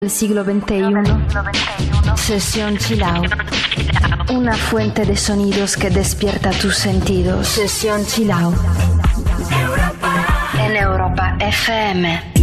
del siglo XXI. Sesión Chill Out. Una fuente de sonidos que despierta tus sentidos. Sesión Chill Out. En Europa FM.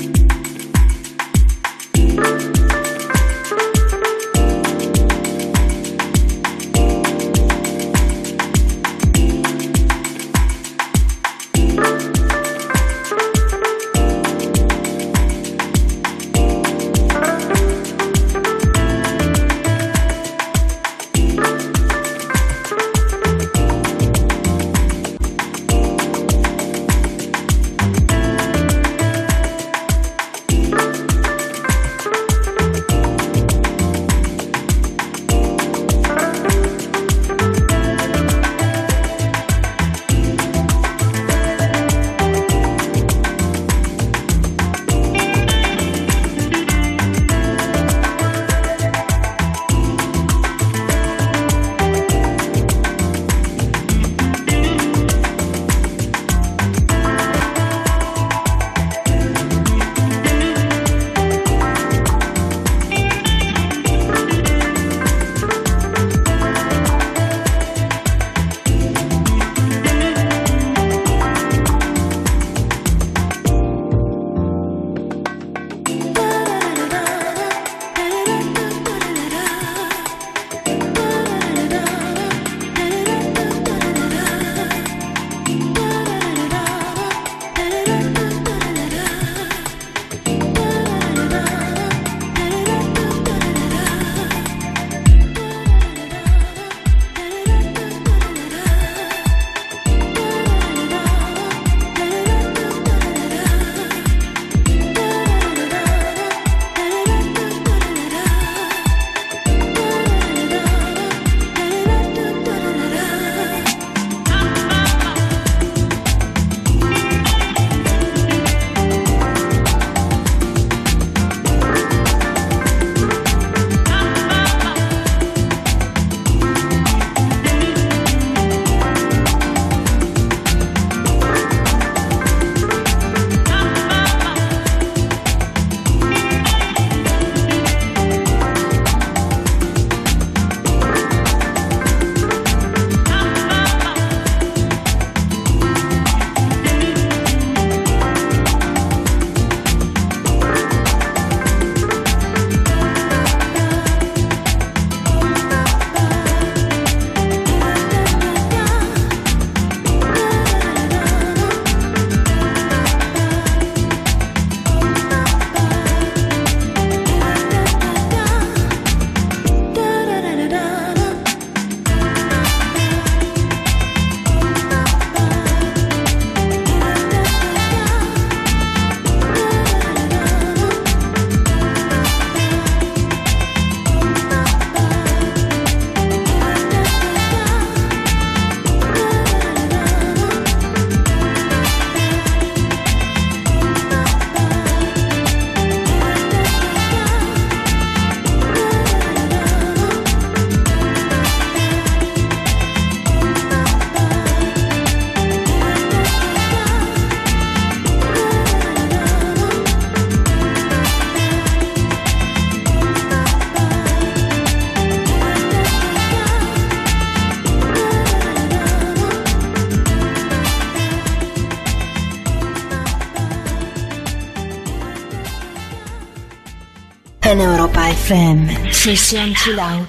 En Europa FM, Sesión Chill Out.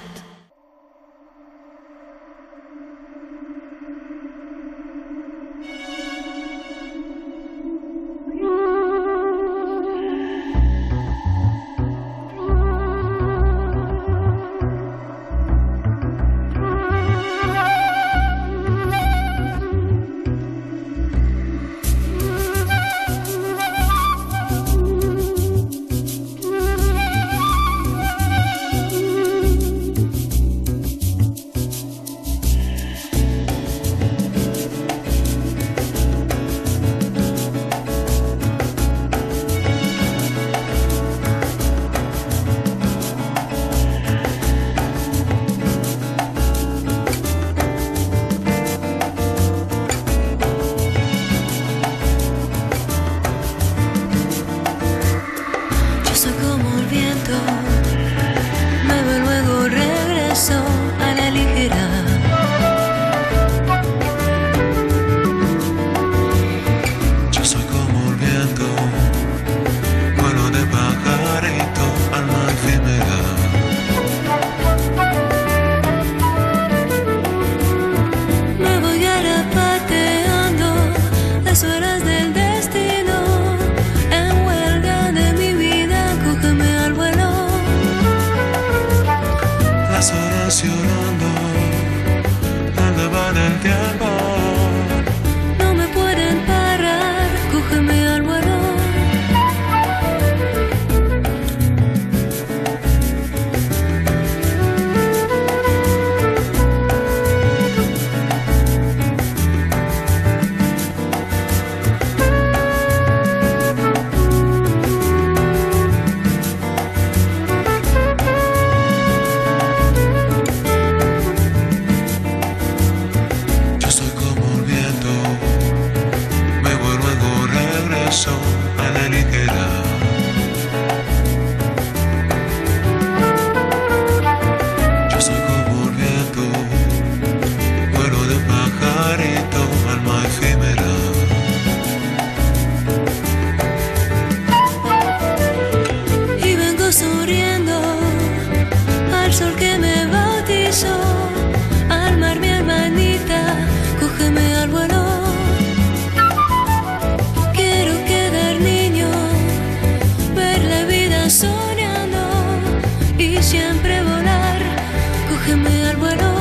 siempre volar. Cógeme al vuelo.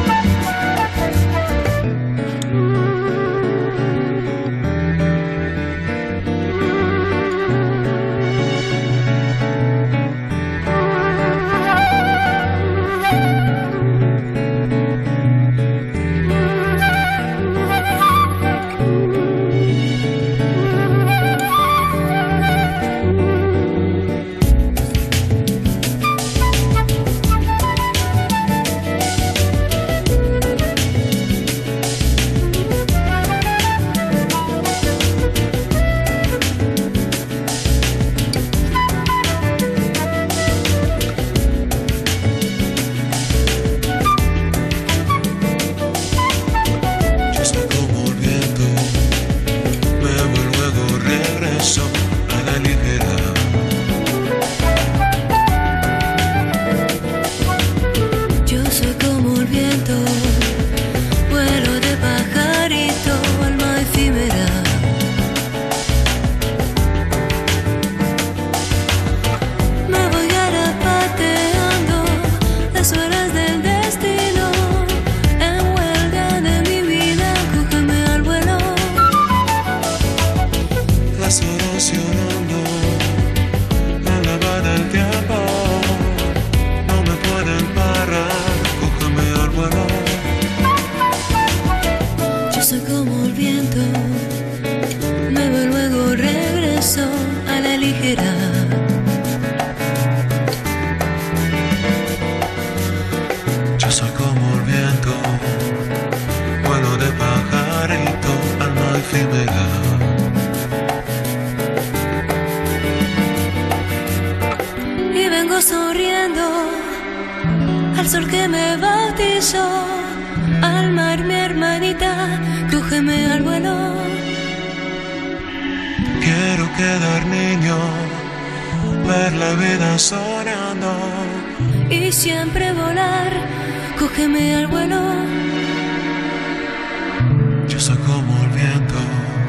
Y siempre volar, cógeme al vuelo. Yo soy como el viento.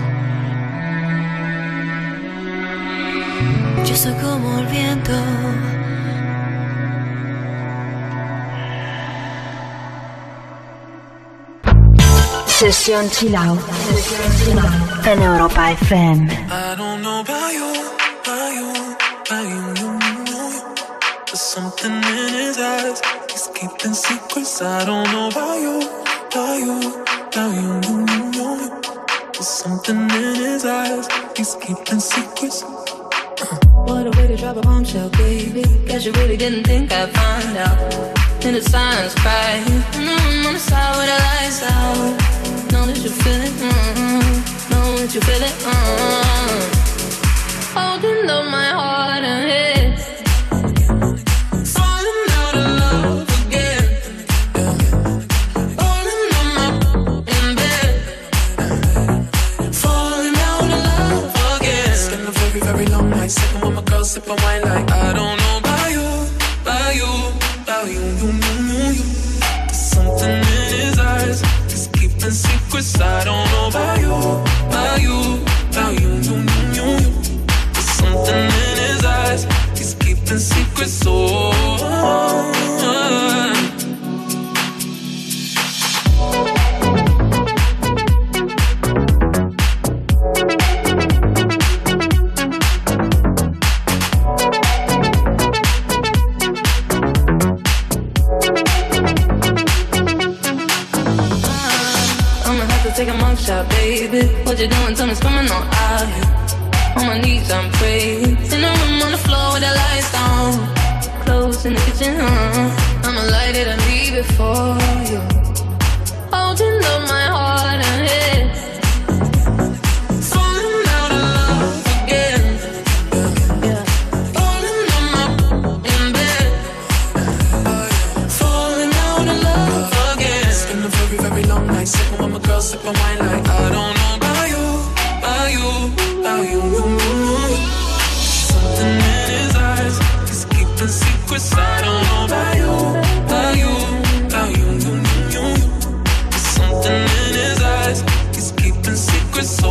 Yo soy como el viento. Sesión Chill Out en Europa FM. I don't know about you, about you, about you. There's something in his eyes. He's keeping secrets. I don't know about you, about you, about you. There's something in his eyes. He's keeping secrets. What a way to drop a bombshell, baby. Guess you really didn't think I'd find out. In the silence, cry. I'm on the side with the lights out. Know that you feel it, know that you feel it, holding up my heart and head. Falling out of love again. Falling on my in bed. Falling out of love again. It's been a very, very long night. Sipping with my girl, sipping wine like I don't know about you, about you, about you. There's something in his eyes. He's keeping secrets. I don't know about you, about you, about you. There's something in his eyes. He's keeping secrets. Take a mug shot, baby. What you doing? Tell me, it's coming on out here. On my knees, I'm praying. In the room on the floor with the lights down. Clothes in the kitchen, I'ma light it and leave it for you. Holding up my heart and head. Falling out of love again. Yeah. Falling on my in bed. Falling out of love again. It's been a very, very long night. Sipping with my girl, sipping wine like I don't know about you, about you, about you. Something in his eyes. He's keeping secrets. I don't know about you, about you, about you. There's something in his eyes. He's keeping secrets.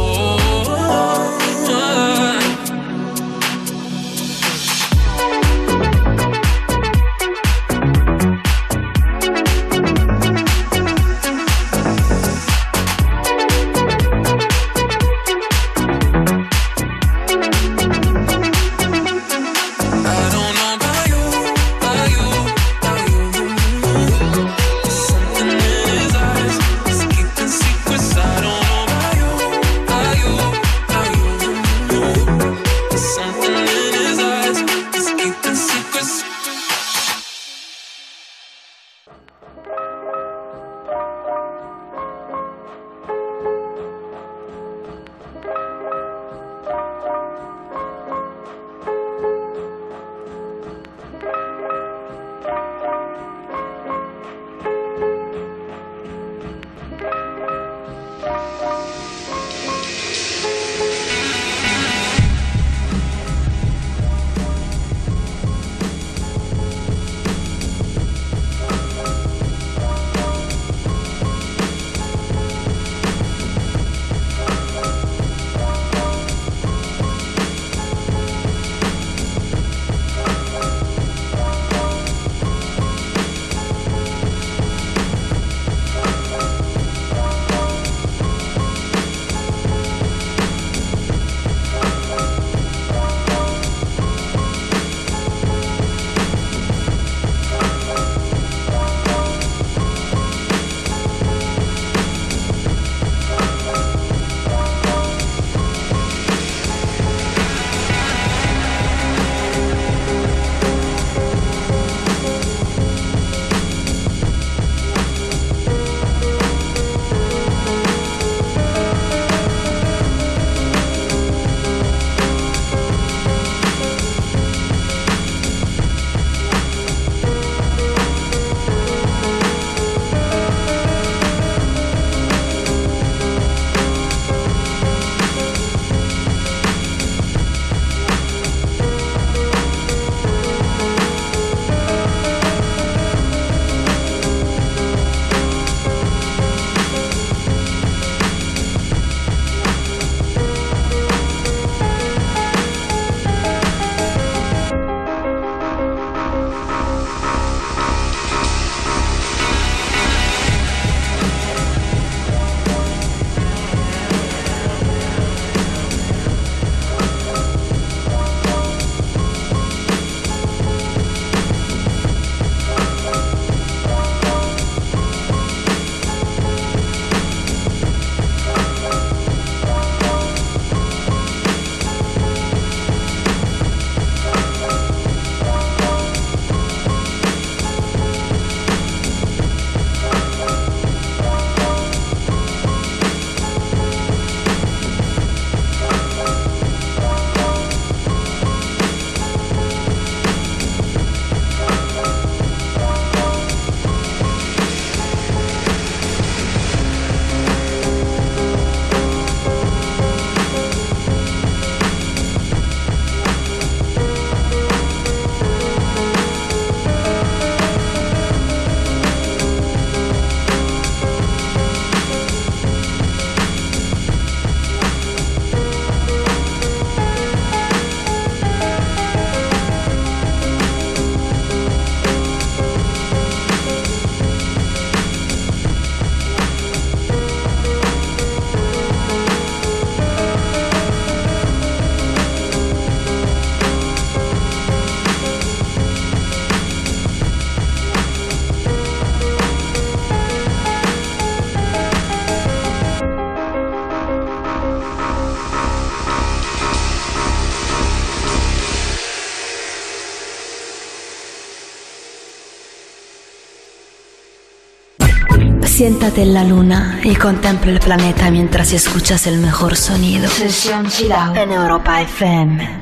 Siéntate en la luna y contempla el planeta mientras escuchas el mejor sonido. Sesión Chill Out en Europa FM.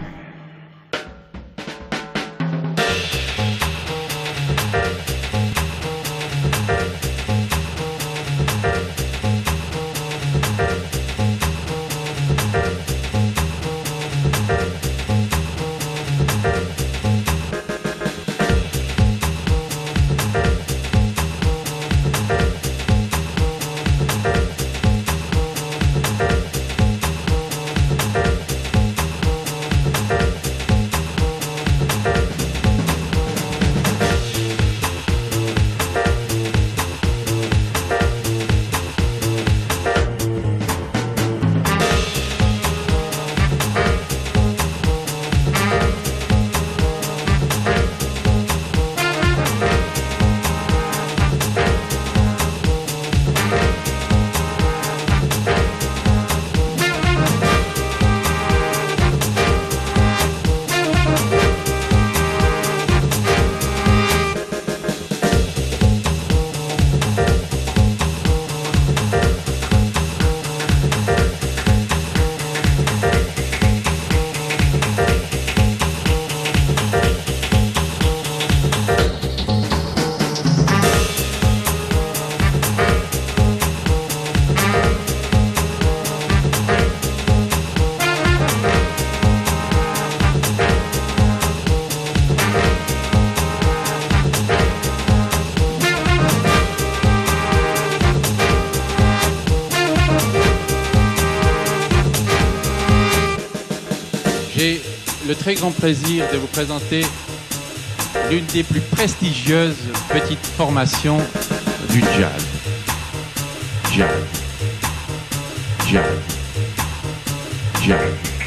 J'ai le très grand plaisir de vous présenter l'une des plus prestigieuses petites formations du jazz. Jazz. Jazz. Jazz.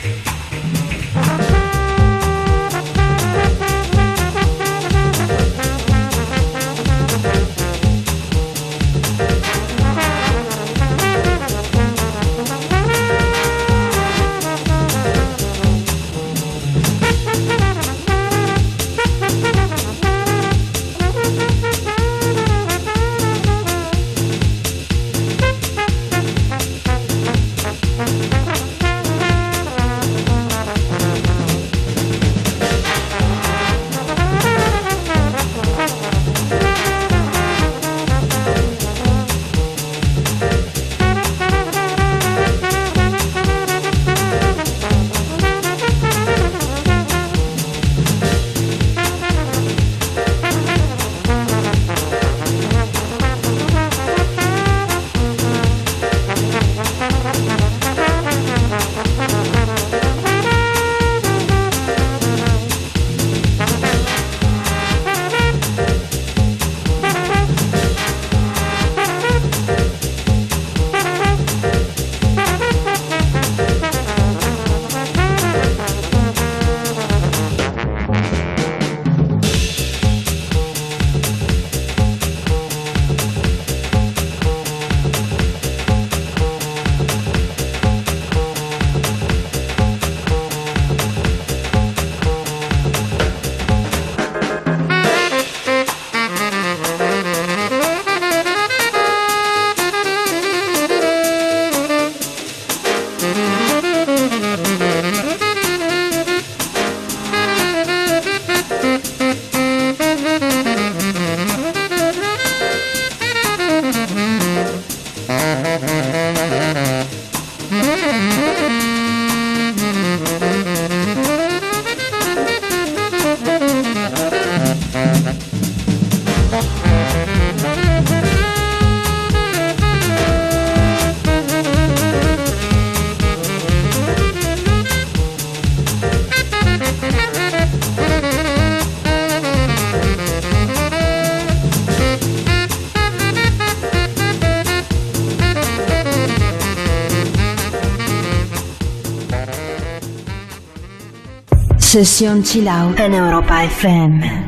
Sesión Chill Out en Europa FM.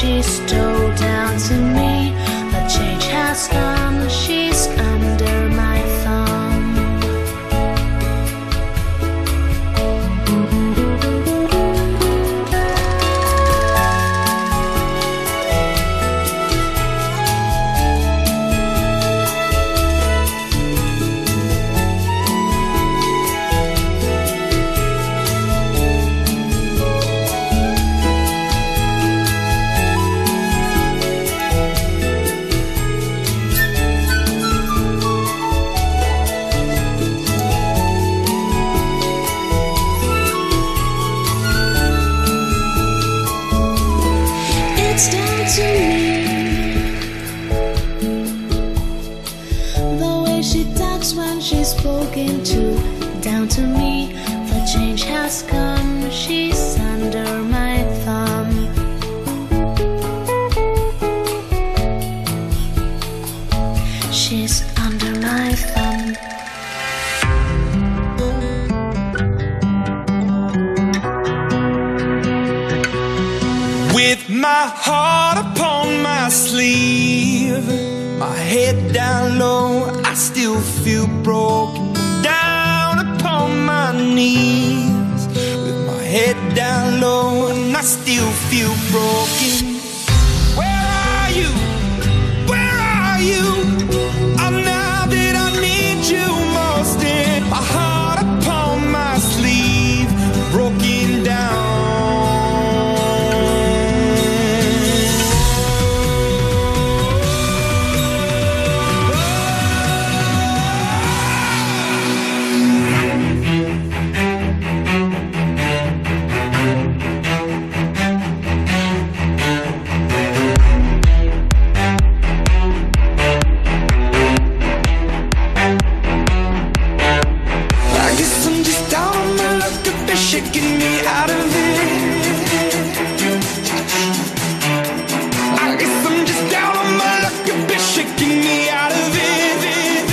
she stole down to me. A change has come, she's under my thumb. Spoken to, down to me, the change has come, she's under my thumb. She's under my thumb. With my heart upon my sleeve, my head down low, I still feel broken. Down upon my knees, with my head down low, and I still feel broken. Where are you? Where are you? Oh, now that I need you most, in my heart upon my sleeve, broken down. Shaking me out of it. I guess I'm just down on my luck. You've been shaking me out of it.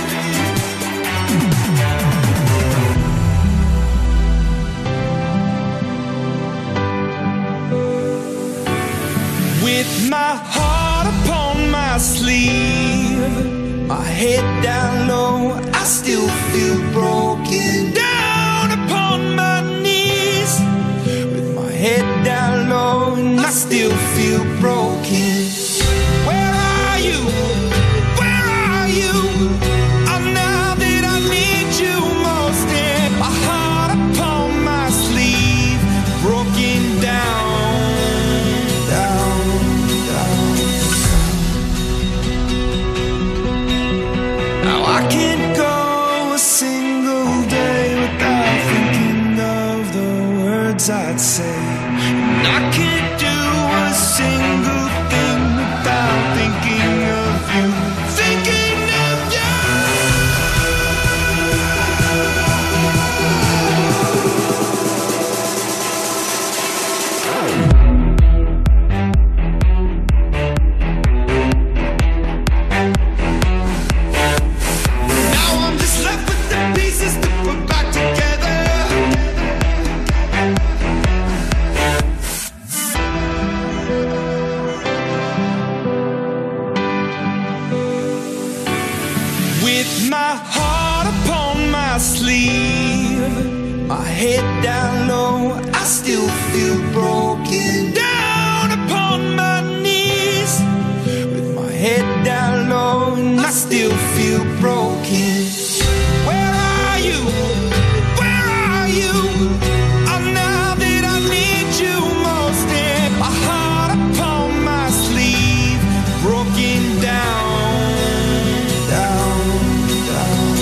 With my heart upon my sleeve, my head down low, I still feel broken. Down upon my knees, with my head down low, and I still feel broken. Where are you? Where are you? Oh, now that I need you most, in my heart upon my sleeve, broken down, down, down. Now I can't go a single day without thinking of the words I'd say. And I can't do a single thing without thinking of you. Thinking of you. Now I'm just left with the pieces to put back together. With my heart upon my sleeve, my head down low, I still feel broken. Down upon my knees, with my head down low, and I still feel broken. Where are you? Where are you? Oh, now that I need you most, in my heart upon my sleeve, broken down, down, down.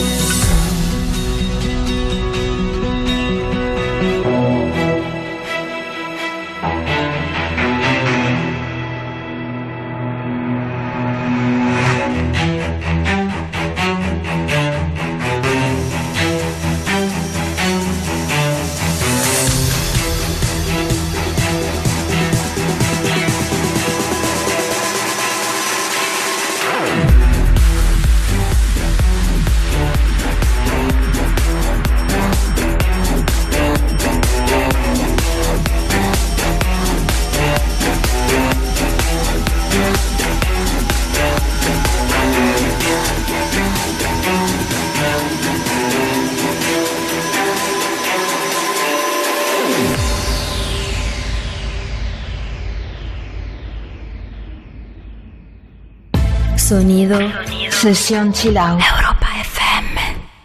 Sonido. Sesión Chill Out. Europa FM.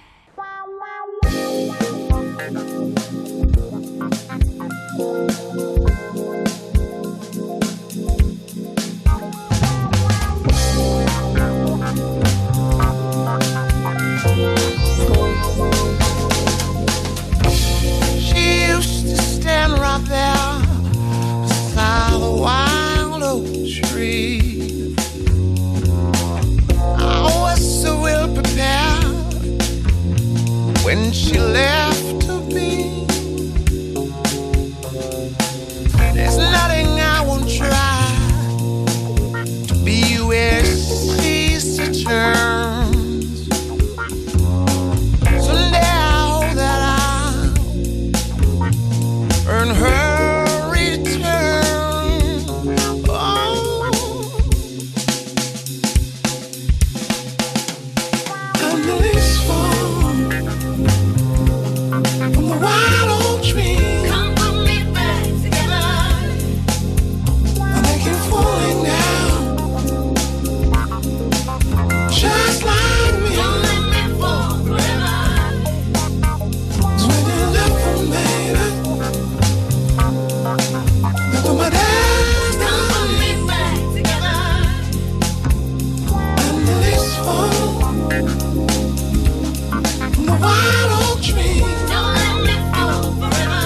She used to stand right there beside the wild oak tree. I was so ill prepared when she left to be. There's nothing I won't try to be where she's returns. Someday I hope that I'll earn her return. Oh, I'm the least from the wild oak tree. Come put me back together. I think you're falling down, just like me. Don't let me fall forever. 'Cause when you left from baby, look what my dad's Come done. put me back together. I'm the least from the wild oak tree. Don't let me fall forever.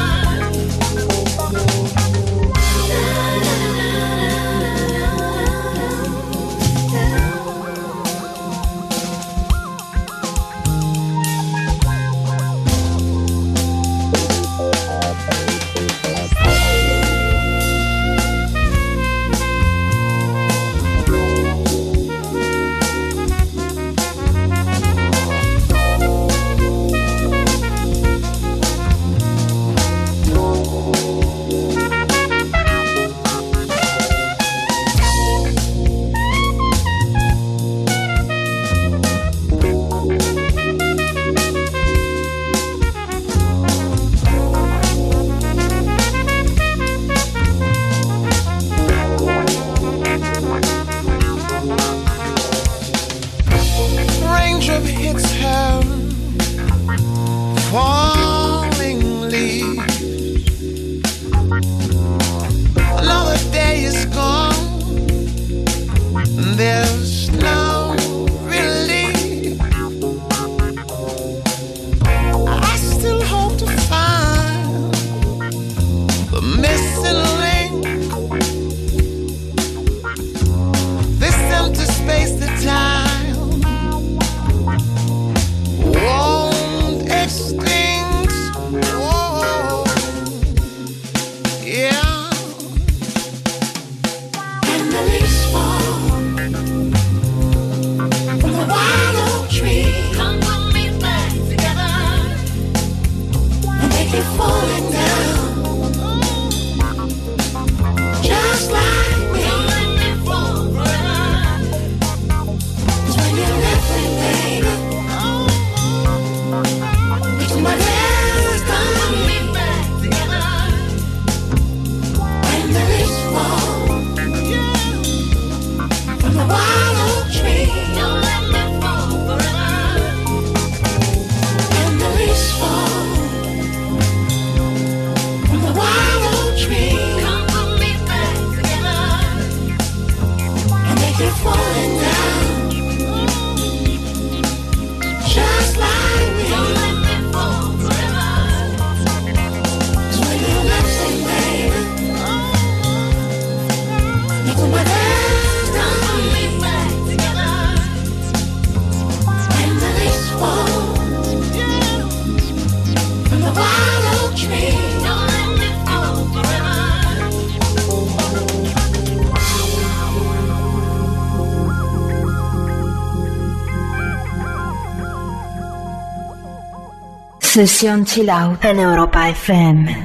Raindrop hits her, falling leaves. Another day is gone, and there's no relief. I still hope to find the missing link, this empty space that time won't extinct. Whoa, yeah. And the leaves fall from the wild oak tree, Come put me back together. and they keep falling down, just like me. Don't let me fall forever. 'Cause when you left me, baby, it's my dad's Come put done. me back together. And the leaves fall from the wild oak tree, Don't let me fall forever. and the leaves fall from the wild oak tree, Come put me back together. and they keep falling down, just like me. Don't let me fall forever. 'Cause when you left me, baby, look what my dad's Come put done. me back together. And the leaves fall from the wild oak tree. Don't let me fall forever. Sesión Chill Out en Europa FM.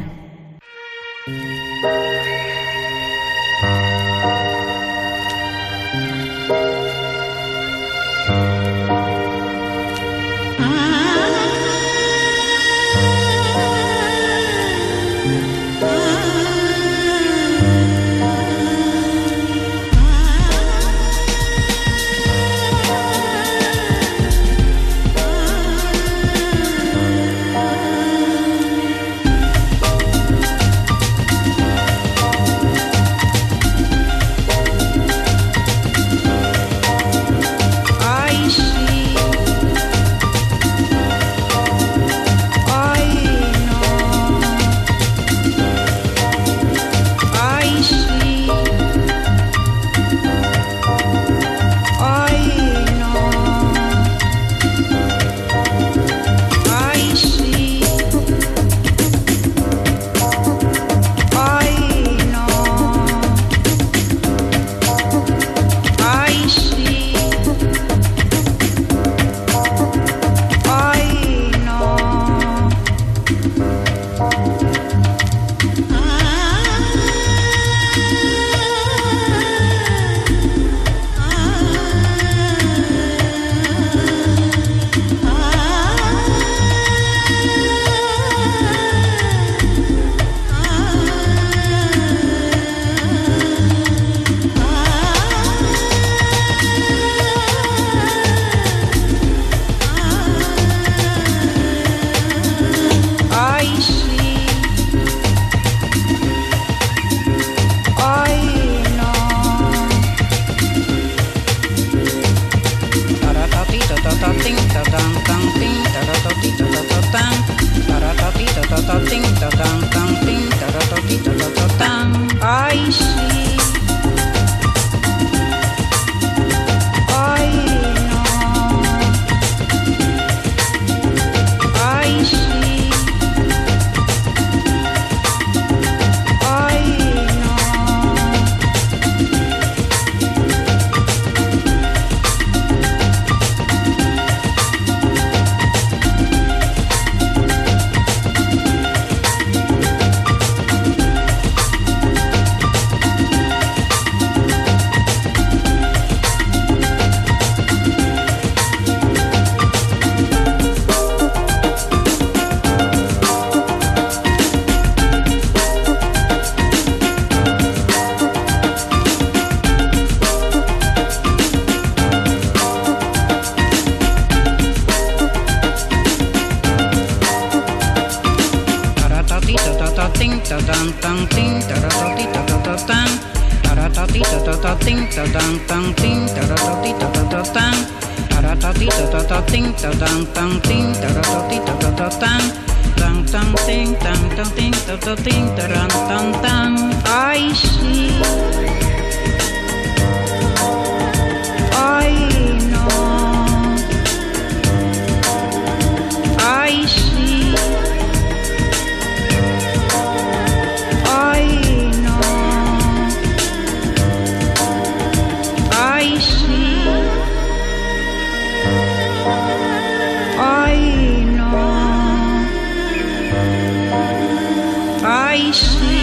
I see, I know, I see, I know, I see, I know, I see.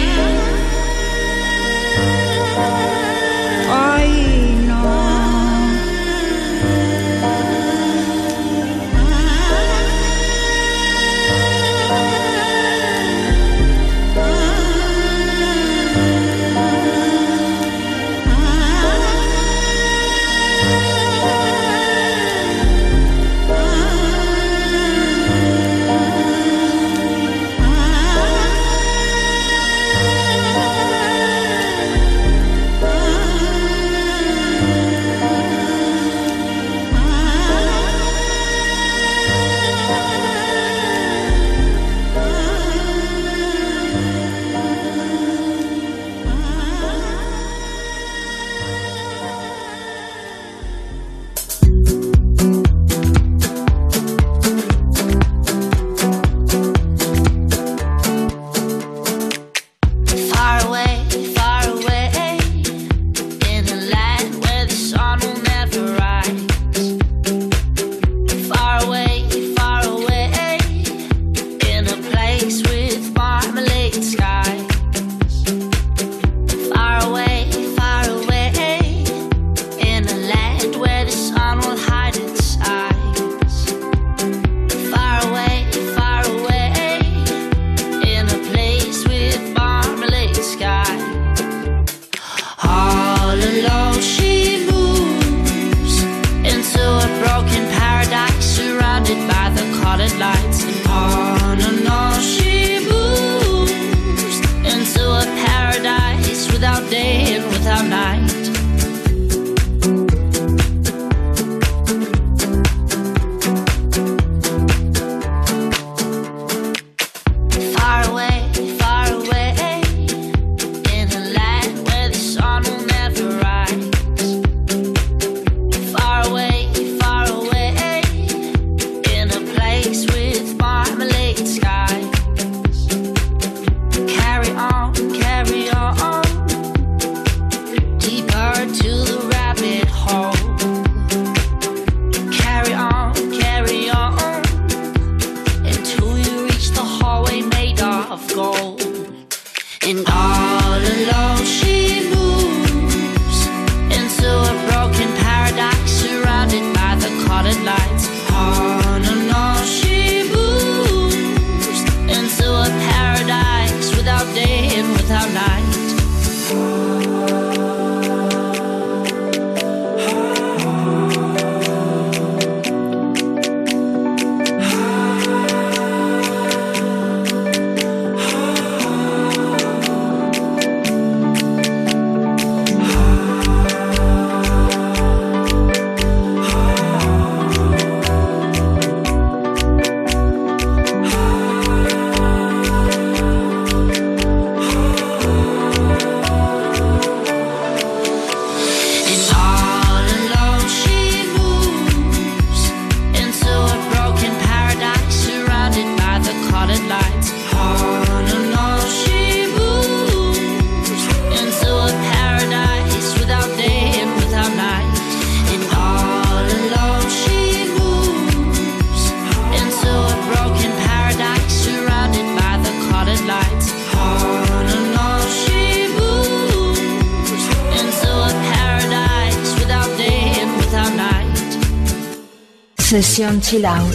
Sesión Chill Out.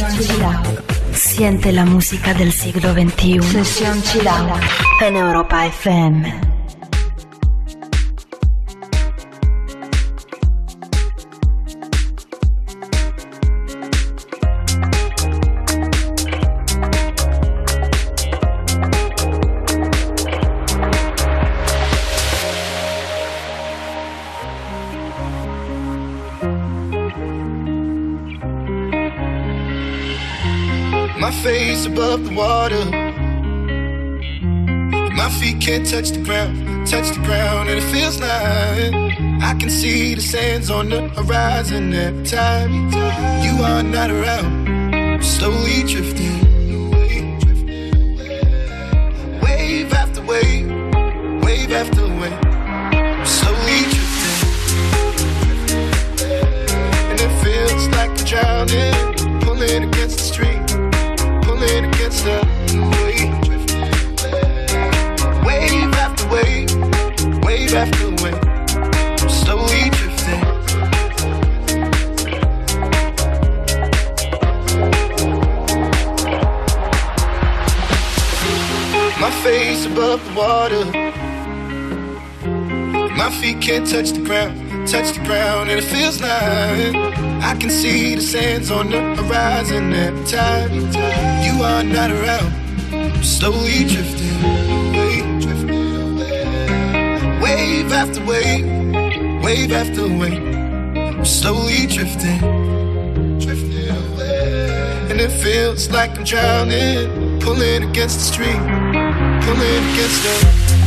Siente la música del siglo XXI. Sesión Chill Out en Europa FM. face above the water. My feet can't touch the ground, and it feels like I can see the sands on the horizon every time you are not around. I'm slowly drifting, wave after wave, wave after wave. I'm slowly drifting, and it feels like I'm drowning, pulling against the stream, pulling against the wave. Wave after wave, wave after wave, I'm slowly drifting. My face above the water. My feet can't touch the ground, and it feels like I can see the sands on the horizon every time you are not around. I'm slowly drifting. Wave after wave, wave after wave, I'm slowly drifting, drifting away. And it feels like I'm drowning, pulling against the stream, pulling against the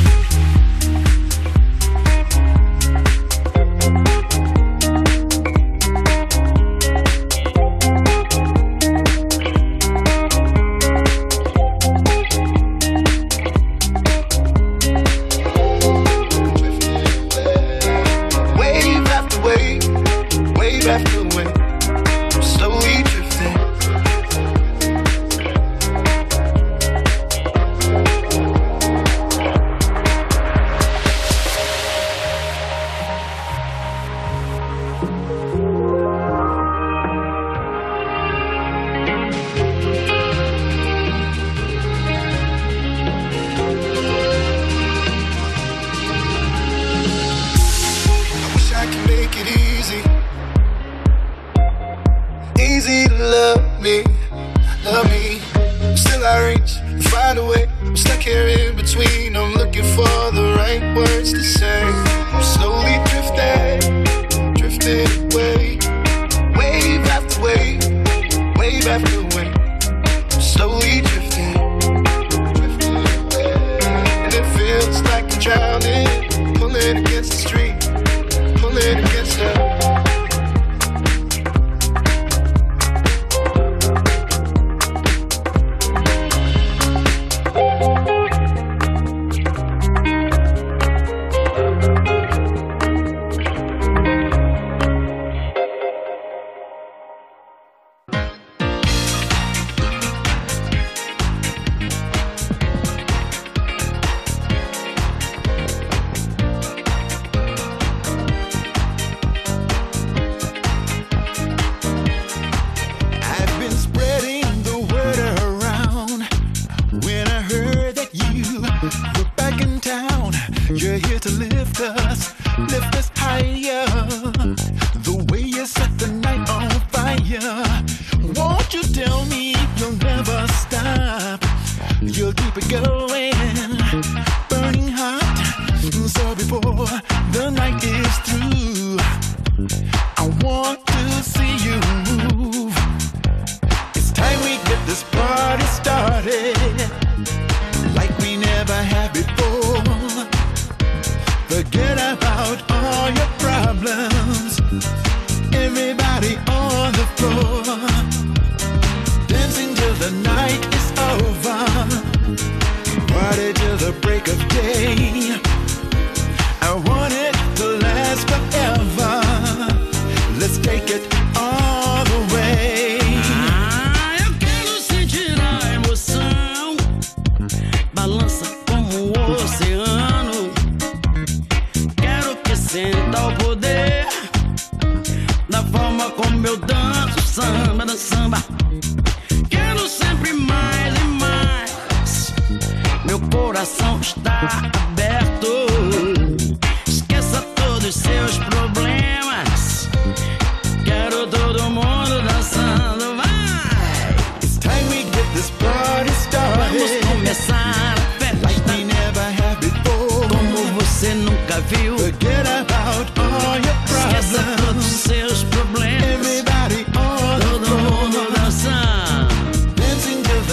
Forget about all your problems. Esqueça todos os seus problemas. Everybody on the floor. Todo mundo dançando. Dancing to the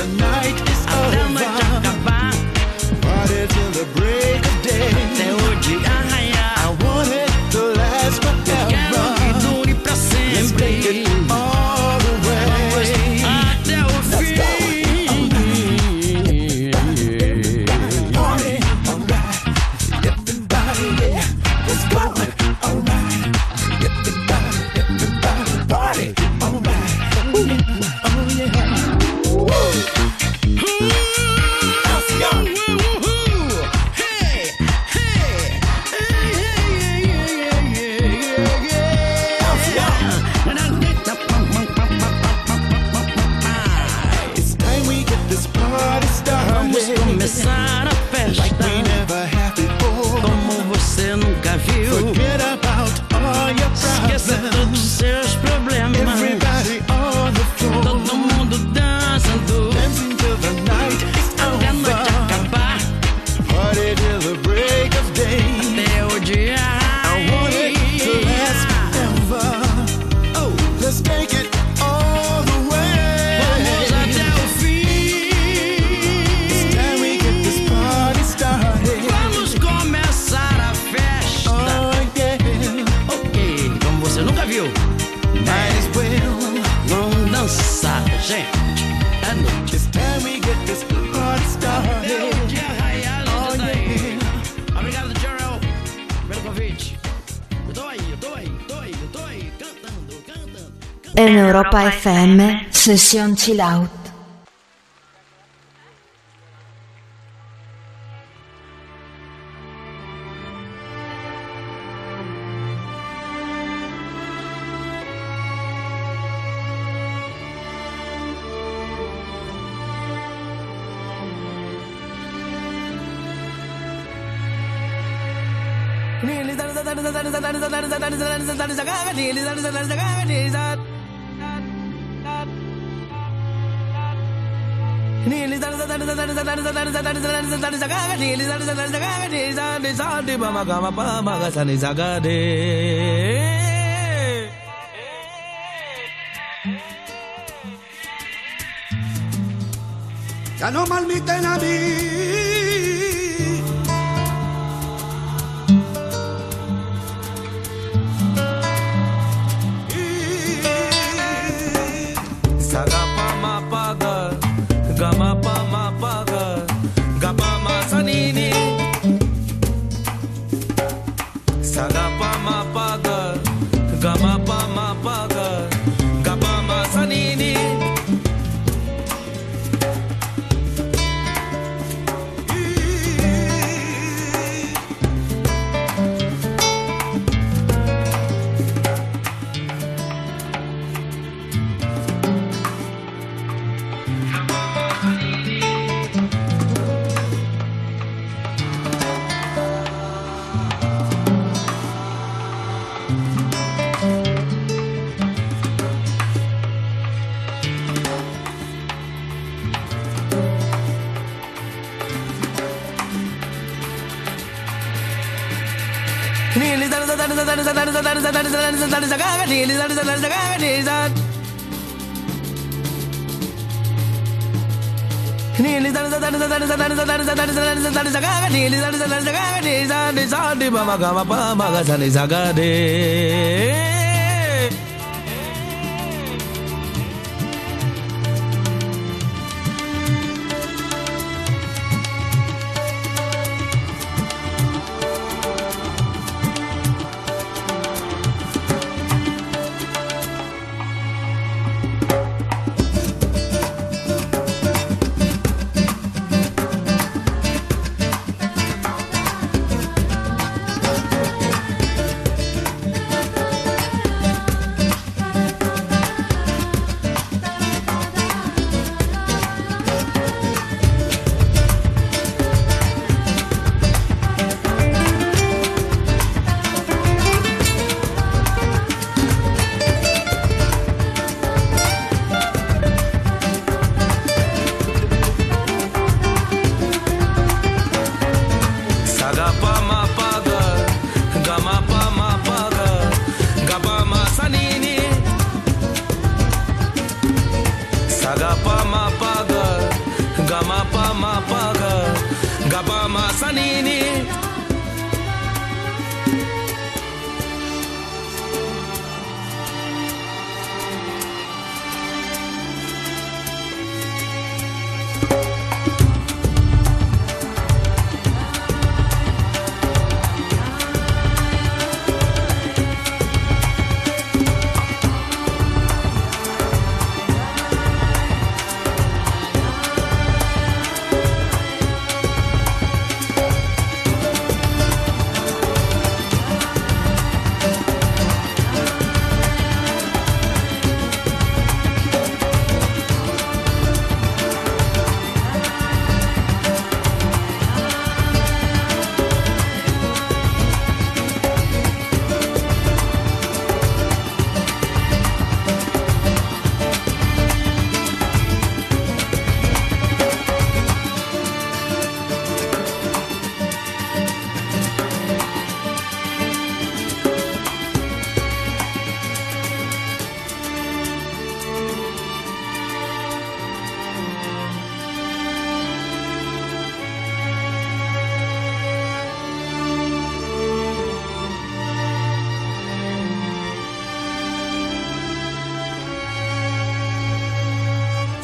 I want it to last forever. Oh, let's take it all the way. Vamos até o fim. It's time we get this party started. Vamos começar a festa. Oh yeah. Ok, como você nunca viu. Might as well. Vamos dançar, gente. É noite. It's time we get this party started. Oh yeah. Obrigado, Gerald, pelo convite. Eu tô aí, cantando. En Europa FM, Sesión Chill Out. Ya no malmiten a mí.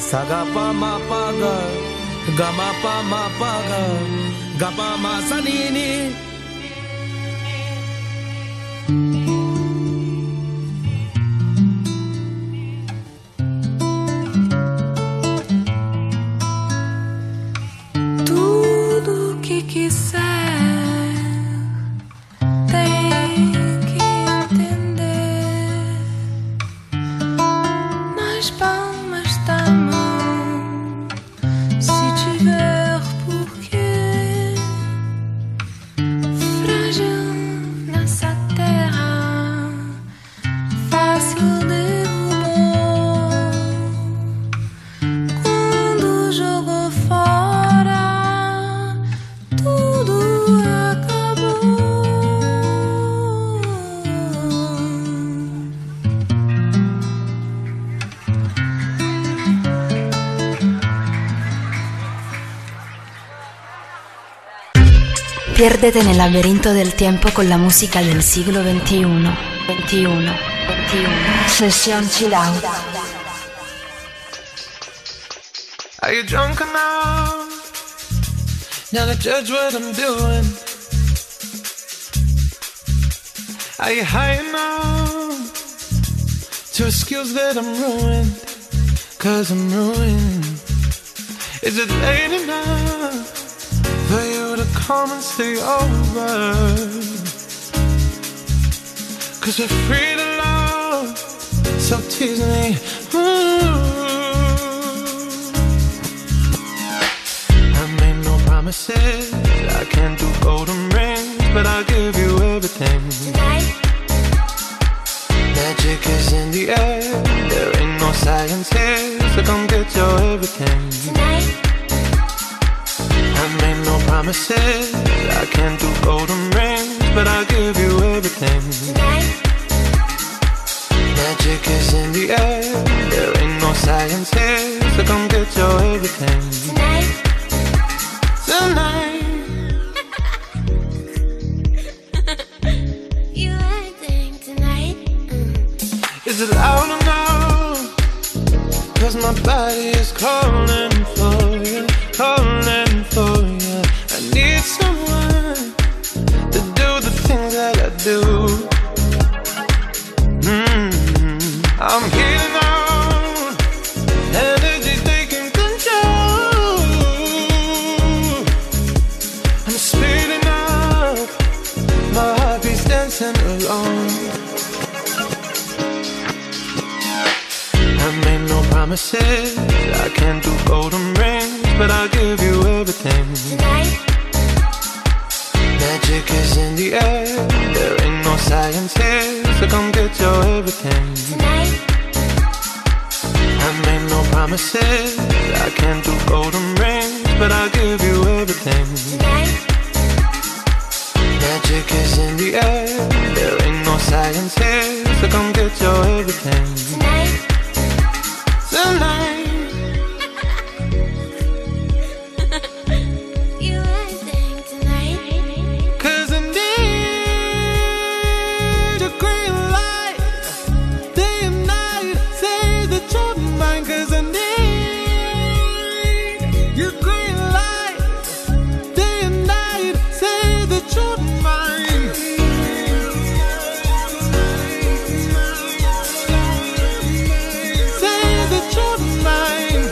Sagapa mapaga, gamapa mapaga, gapa masanini. Tudo que quiser tem que entender nas palmas da mão, se tiver porquê, frágil nessa terra, fácil derrubou quando jogou fora. Tudo acabou. Piérdete en el laberinto del tiempo con la música del siglo XXI. Sesión Chill Out. Are you drunk enough now to judge what I'm doing? Are you high enough to excuse that I'm ruined? 'Cause I'm ruined. Is it late enough for you to come and stay over? 'Cause we're free to love, so tease me. Promises, I can't do golden rings, but I'll give you everything. Tonight. Magic is in the air, there ain't no science here, so come get your everything. Tonight. I made no promises, I can't do golden rings, but I'll give you everything. Tonight. Magic is in the air, there ain't no science here, so come get your everything. Tonight. Tonight. You acting tonight. Is it loud enough? 'Cause my body is calling for you, calling for you. I need someone to do the things that I do. I'm healing out, energy's taking control. I'm speeding up, my heartbeat's dancing alone. I made no promises, I can't do golden rings, but I'll give you everything. Tonight. Magic is in the air, there ain't no science here, so come get your everything. Tonight. I made no promises, I can't do golden rings, but I'll give you everything. Tonight. Magic is in the air, there ain't no science here, so come get your everything. Tonight. Tonight. You acting tonight. 'Cause I need a green light, day and night, say that you're mine. 'Cause I need your green light, day and night, say that you're mine. Say that you're mine.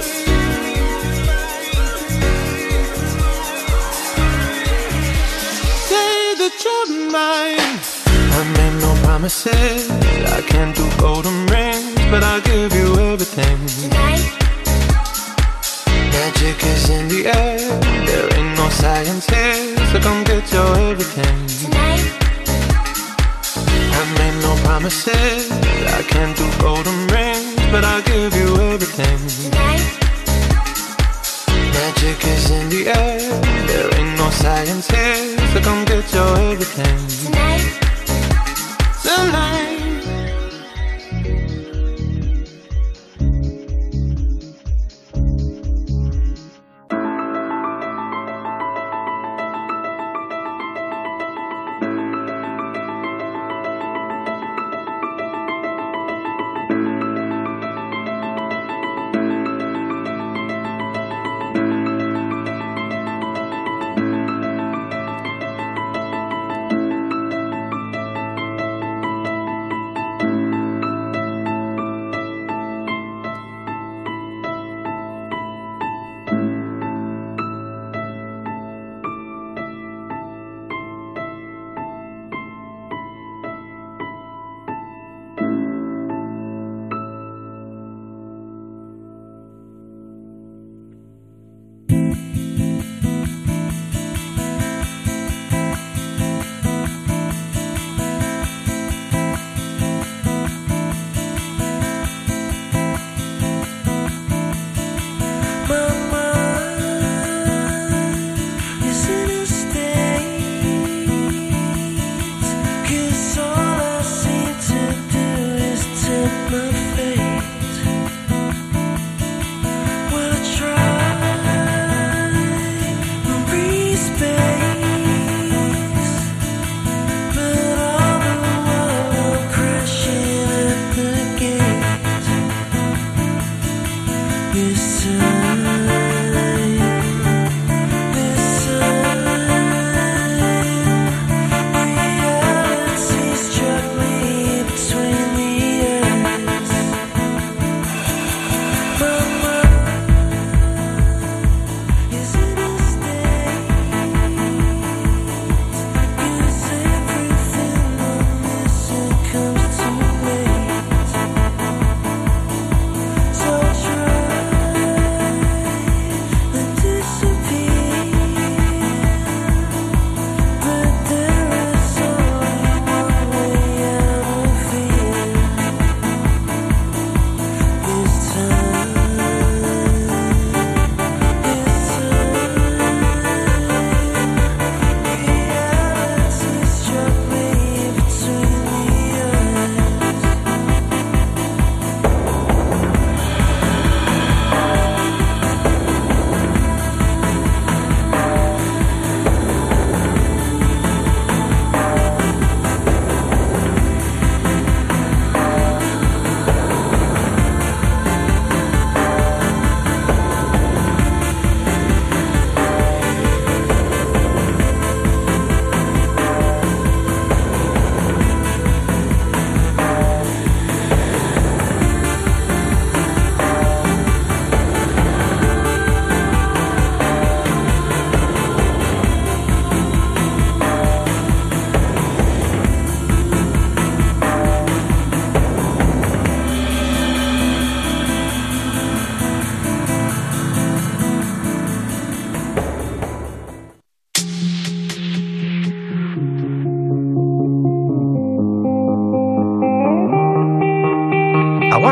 Say that you're mine. I made no promises, I can't do golden rings, but I'll give you everything. Tonight. Magic is in the air, there ain't no science here, so come get your everything. Tonight. I made no promises, I can't do golden rings, but I'll give you everything. Tonight. Magic is in the air, there ain't no science here, so come get your everything. Tonight. Tonight.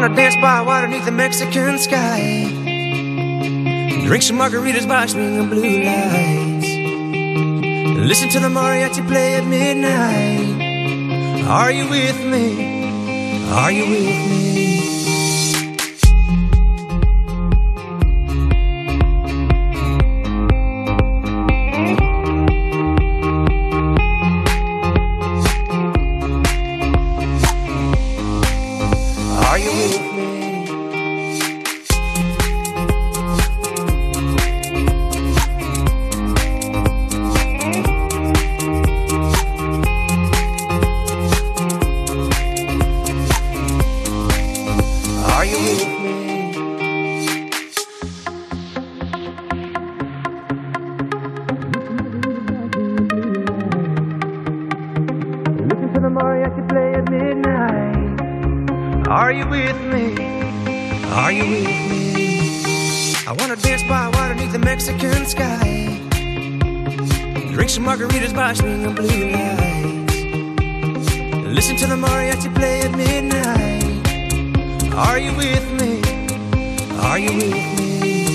wanna dance by water beneath the Mexican sky. Drink some margaritas by swinging blue lights. Listen to the mariachi play at midnight. Are you with me? Are you with me? Margaritas by swinging blue lights. Listen to the mariachi play at midnight. Are you with me? Are you with me?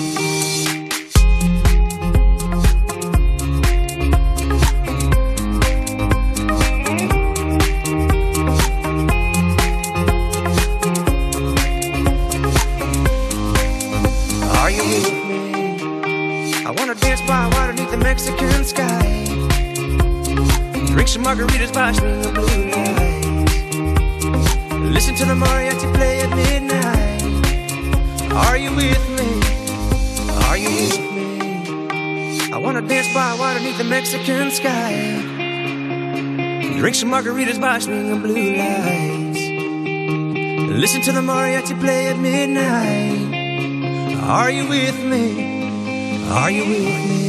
Are you with me? I wanna dance by water beneath the Mexican sky. Drink some margaritas by swinging blue lights. Listen to the mariachi play at midnight. Are you with me? Are you with me? I wanna dance by water beneath the Mexican sky. Drink some margaritas by swinging blue lights. Listen to the mariachi play at midnight. Are you with me? Are you with me?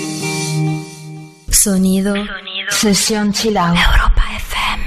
Sonido. Sesión Chill Out. Europa FM.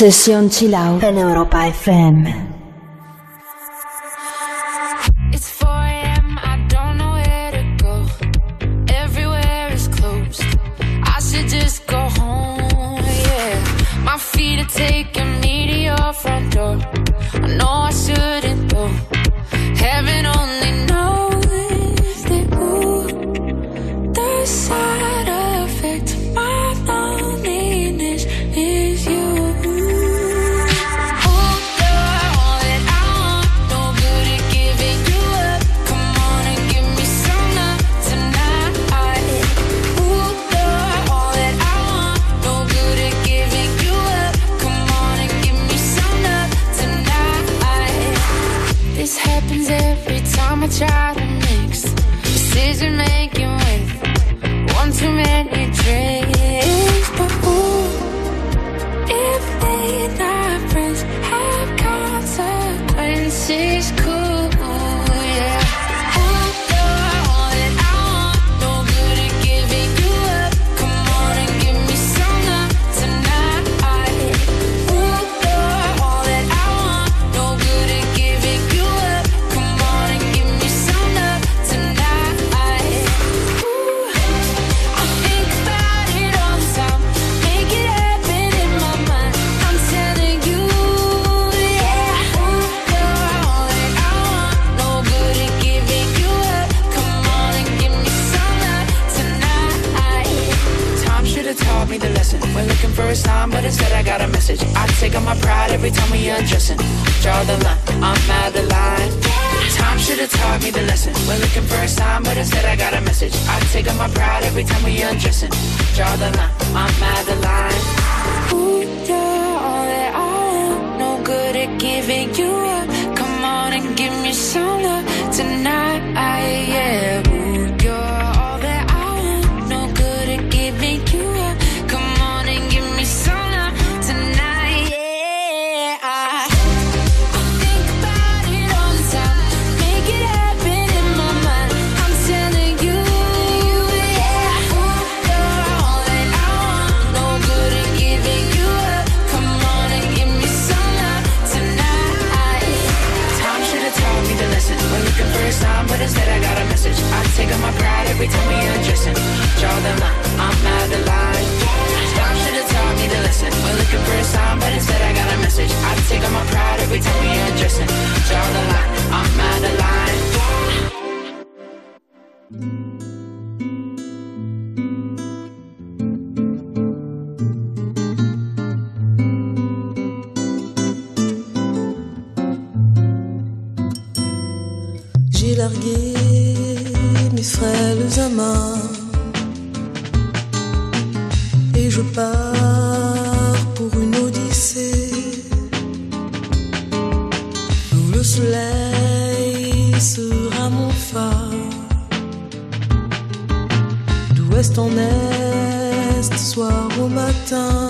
Sesión Chill Out en Europa FM. It's 4 a.m., I don't know where to go. Everywhere is closed. I should just go home, yeah. My feet are taking me to your front door. I know I shouldn't go. Heaven only knows that, ooh, the side effect of my loneliness is you. I try to mix decision making with one too many drinks. But ooh, if they not friends have consequences, cool, yeah. Ooh, you're all that I want, no good at giving you up. Come on and give me some love tonight. Ooh, you're all that I want, no good at giving you up. Come on and give me some love tonight. Ooh, I think about it all the time, make it happen in my mind. I'm telling you, yeah. Ooh, you're all that I want, no good at giving you up. Come on and give me some love tonight. Time should have taught me the lesson. We're looking for a sign, but instead I got a message. I take on my pride every time we undressing. Draw the line, I'm out of line. Time should have taught me the lesson. We're looking for a sign, but instead I got a message. I take on my pride every time we undressing. Draw the line, I'm out of line. Ooh, you're all that I want, no good at giving you up. Come on and give me some love tonight, yeah. Ooh, you're all that I want, no good at giving you up. Come on and give me some love tonight, yeah. I think about it all the time, make it happen in my mind. I'm telling you, yeah. Ooh, you're all that I want, no good at giving you up. Come on and give me some love tonight. Time should have taught me the lesson. We're looking for a sign, but instead I got a message. I take on my pride every time we undressing. Draw the line, I'm out of line. Time should have taught me the lesson. We're looking for a sign, but instead I got a message. I take on my pride every time we undressing. Draw the line, I'm out of line. J'ai largué mes frêles amants et je pars pour une odyssée où le soleil sera mon phare. D'ouest en est, soir au matin,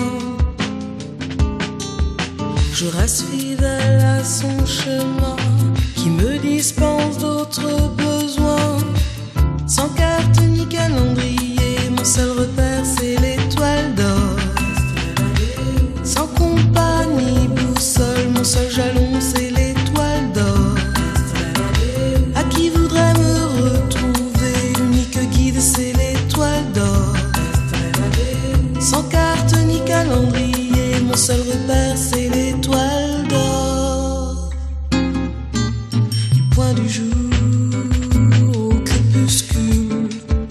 je reste fidèle à son chemin qui me dispense d'autres besoins. Sans carte ni calendrier, mon seul repère c'est l'étoile d'or. Sans compas ni boussole, mon seul jalon c'est l'étoile d'or. À qui voudrait me retrouver, l'unique guide c'est l'étoile d'or. Sans carte ni calendrier, mon seul repère c'est l'étoile d'or. Du point du jour au crépuscule,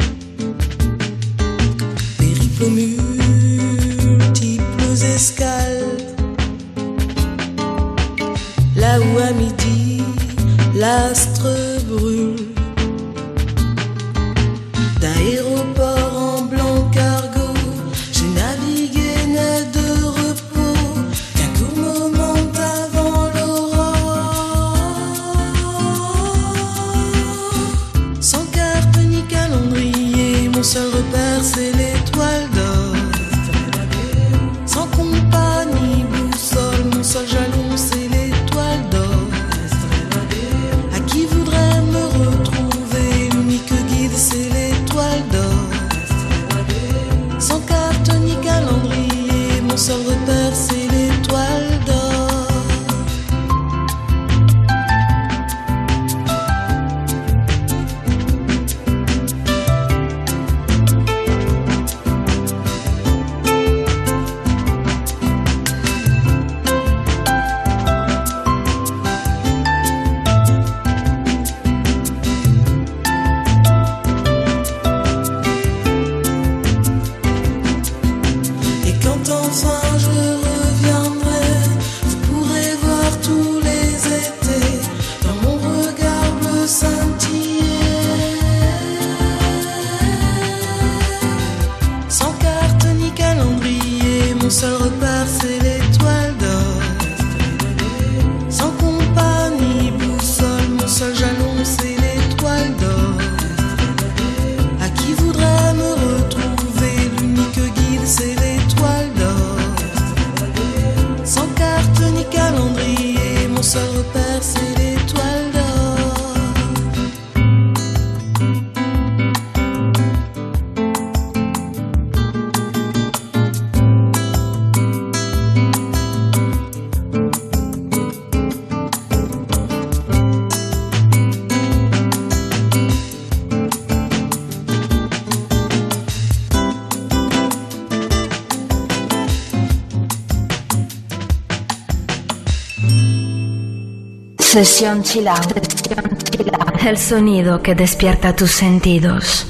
périple aux multiples escales. Là où à midi l'astre brûle, d'aéroport en blanc cargo, j'ai navigué net de repos, qu'un court moment avant l'aurore. Sans carte ni calendrier, mon seul repère c'est l'étoile d'or. Sans compas ni boussole, mon seul jalon c'est l'étoile d'or. À qui voudrait me retrouver, l'unique guide c'est l'étoile d'or. Sans carte ni calendrier, mon seul repère c'est l'étoile Sesión Chill Out. El sonido que despierta tus sentidos.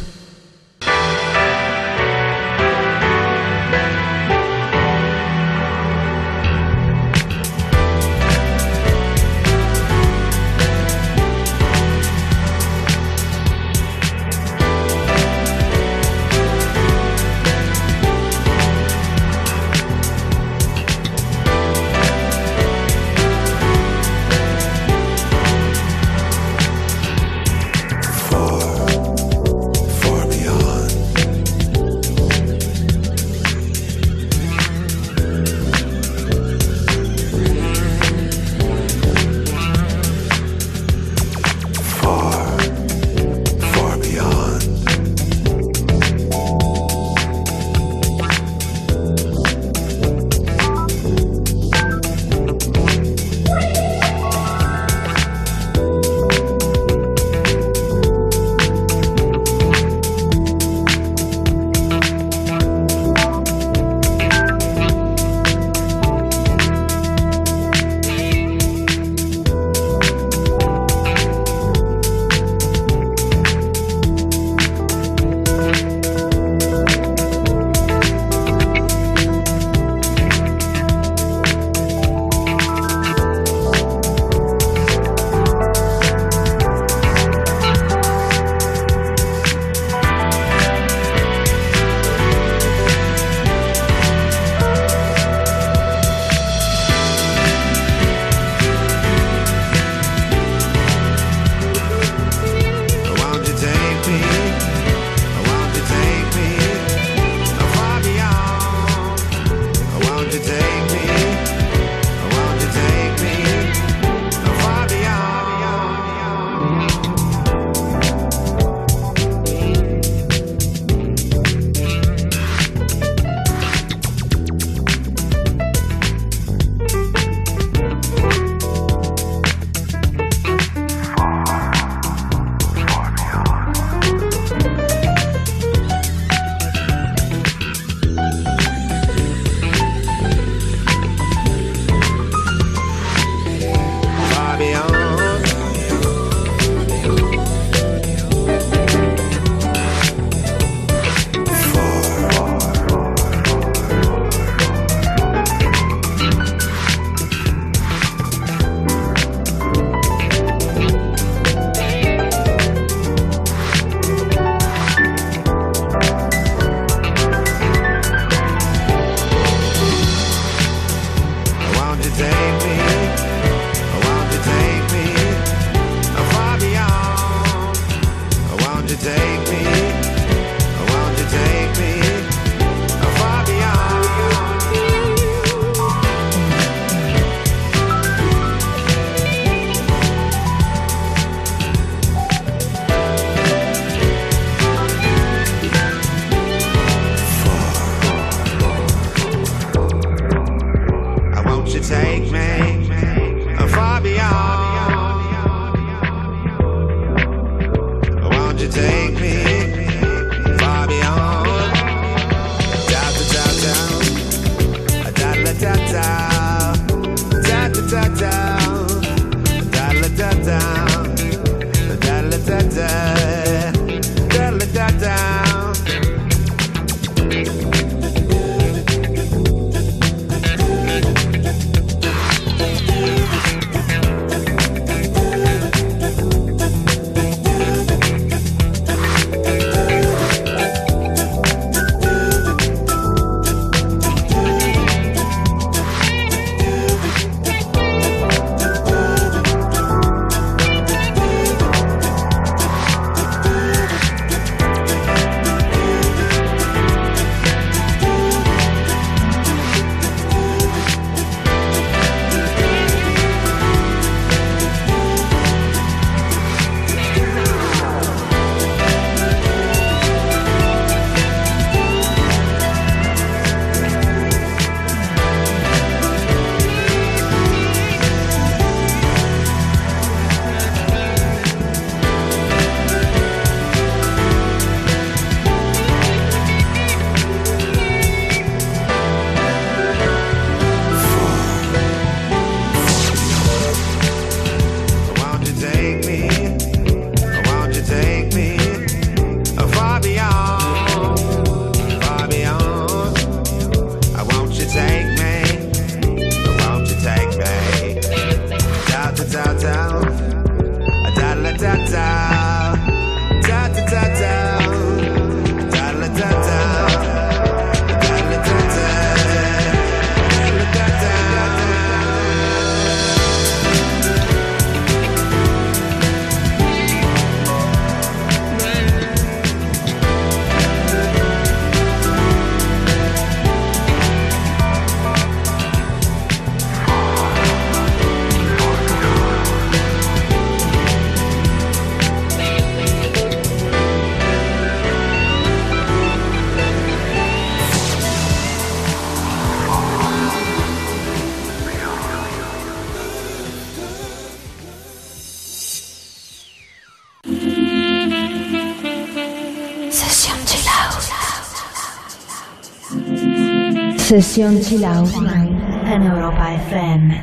Sesión Chill Out en Europa FM.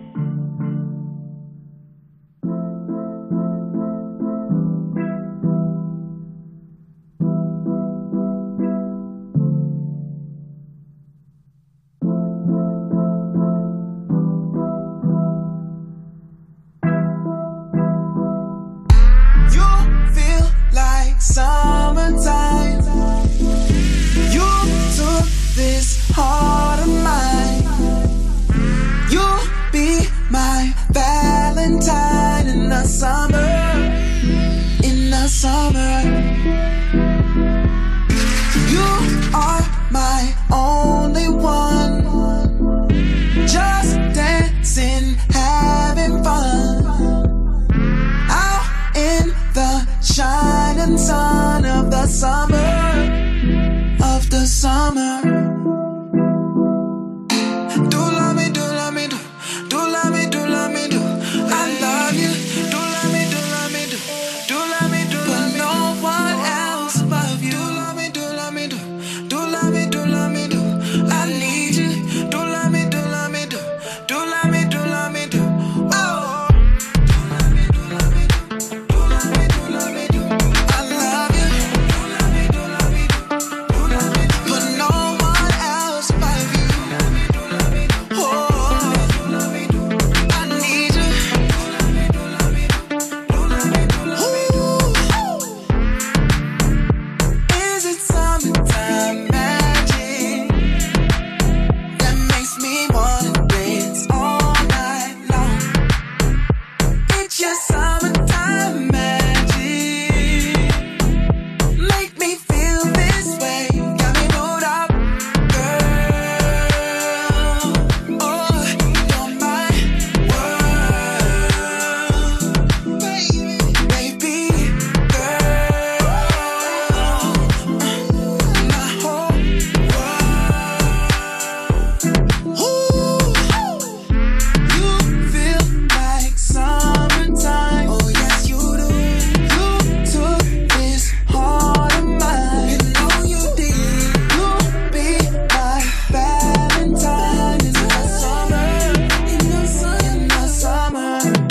Summertime, you took this heart of mine. You'll be my Valentine in the summer, in the summer. You are my only one, just dancing, having fun, out in the shining sun of the summer, of the summer. Do love me, do love me, do. Do love me, do love me, do. I love you. Do love me, do love me, do. Do love me, do love me, do. But no one else above you. Do love me, do love me, do. Do love me, do love me, do. I need you. Do love me, do love me, do. Do love me, do love me, do. Oh. Do love me, do love me, do. Do love me, do love me, do. I love you. Do love me, do love me, do. Do love me, do. But no one else above you. Do love me, do love me, do. Oh. Do love me, do. I need you. Do love me, do love me, do. Do love me, do love me, do. Is it summertime magic that makes me wanna dance all night long? It's your summertime magic, make me feel this way, got me moved up, girl. Oh, you're my world, baby, girl, my whole world. Ooh, you feel like summertime. Oh yes, you do. You took this heart of mine. You know you did. You'll be my Valentine in the summer. In the summer. In the summer.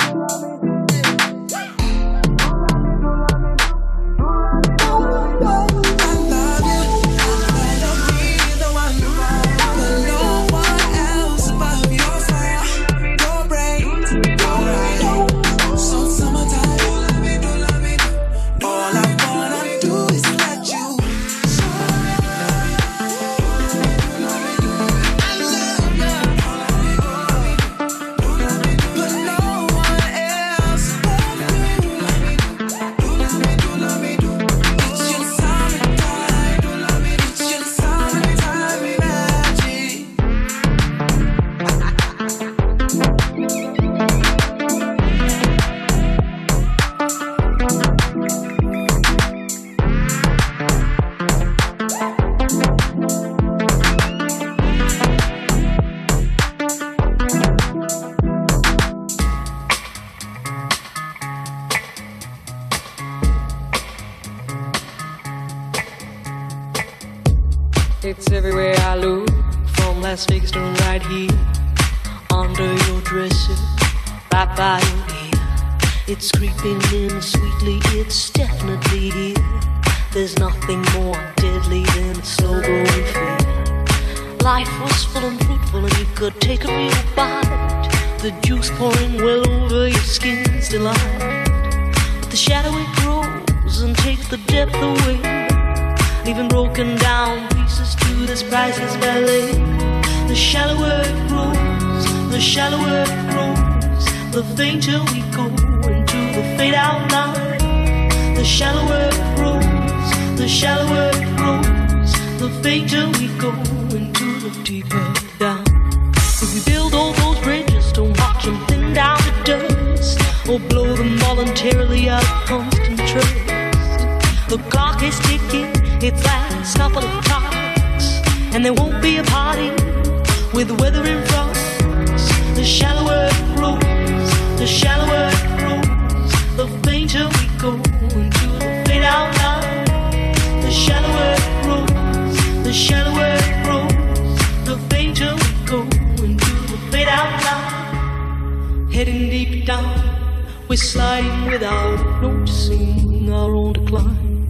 I love you. I wanna be the one, but no one else above you. Your brains, your eyes, so summertime. Do love me, do love me, do. All I wanna do is let you. I love you. But no one else above you. Do love me, do love me, do. It's your summertime. Do love me, it's your summertime magic. It's everywhere I look, from Las Vegas to right here, under your dresser, right by your ear. It's creeping in sweetly, it's definitely here. There's nothing more deadly than a slow growing fear. Life was full and fruitful and you could take a real bite. The juice pouring well over your skin's delight. But the shadow it grows and takes the depth away, leaving broken down pieces to this priceless ballet. The shallower it grows, the shallower it grows, the fainter we go into the fade out line. The shallower it grows, the shallower it grows, the fainter we go into the deeper down. If we build all those bridges, don't watch them thin down to dust, or blow them voluntarily out of constant trust. The clock is ticking, its last couple of clocks, and there won't be a party with weather in front. The shallower it grows, the shallower it grows, the fainter we go into the fade out line. The shallower it grows, the shallower it grows, the Heading deep down, we're sliding without noticing our own decline.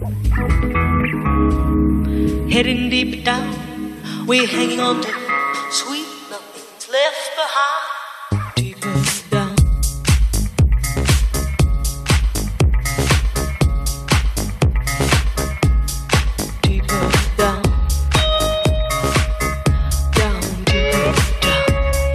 Heading deep down, we're hanging on to sweet nothing's left behind. Deeper down. Deeper down. Down, deeper down.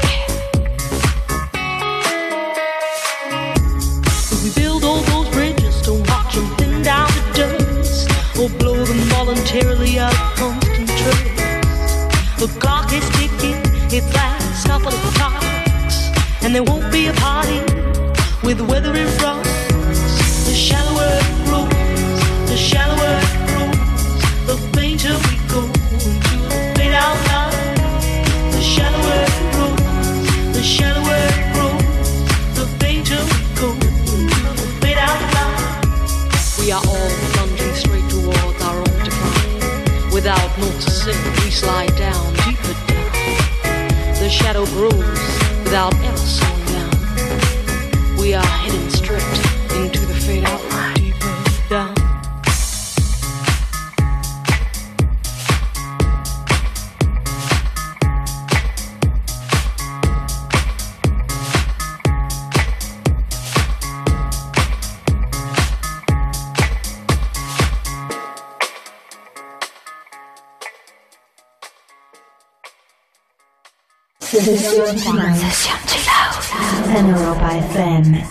We build all those bridges to watch them thin down to dust, or blow them voluntarily out of constant trust. The clock is ticking, its last couple of clocks, and there won't be a party with the weather in front. The shallower it grows, the shallower it grows, the fainter we go into the fade out line. The shallower it grows, the shallower it grows, the fainter we go into the fade out line. We are all plunging straight towards our own decline. Without noticing, we slide down, deeper down. The shadow grows without ever slowing down. We are heading straight into the fade out line. Deeper down. Session Chill Out en Europa FM.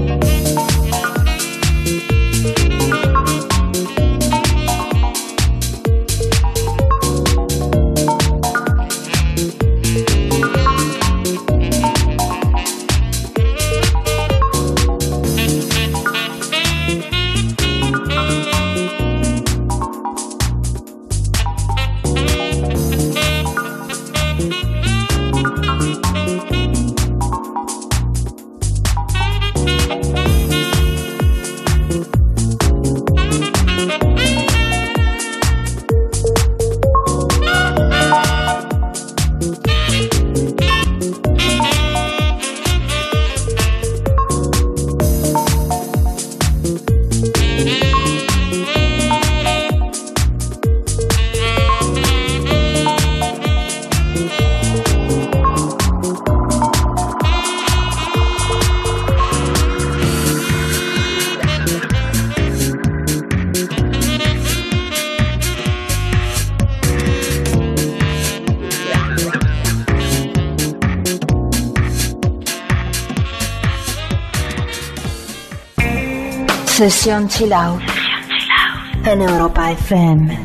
Sesión Chill Out en Europa FM.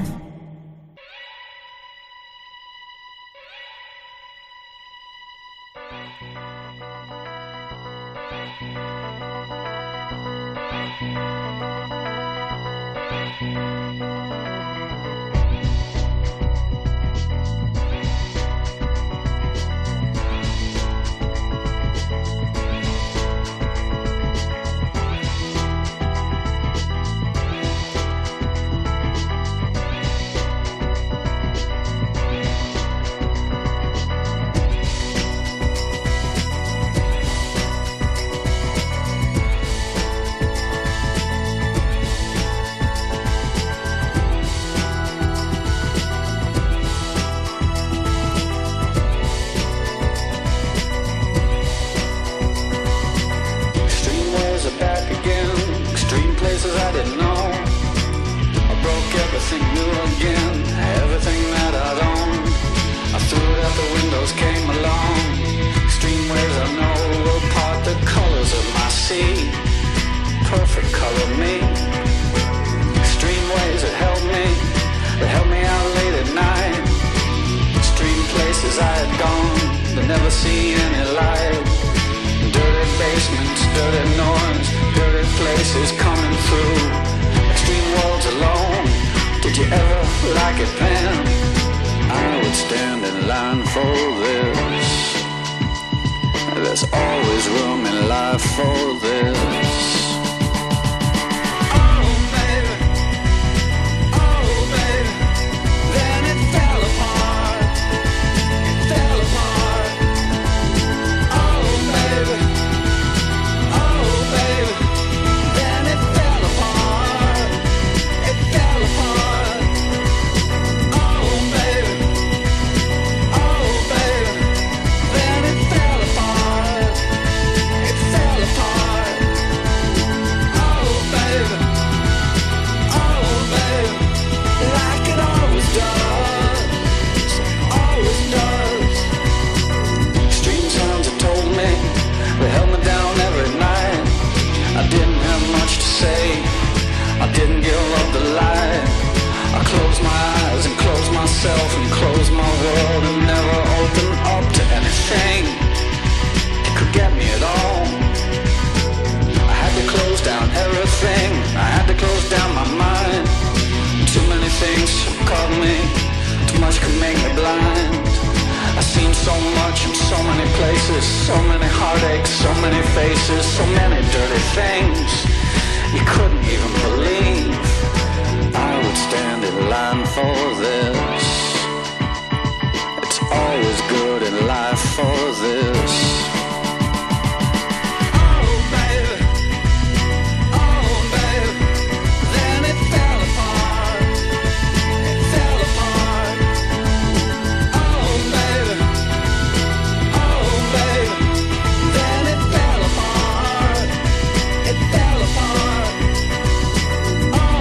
Oh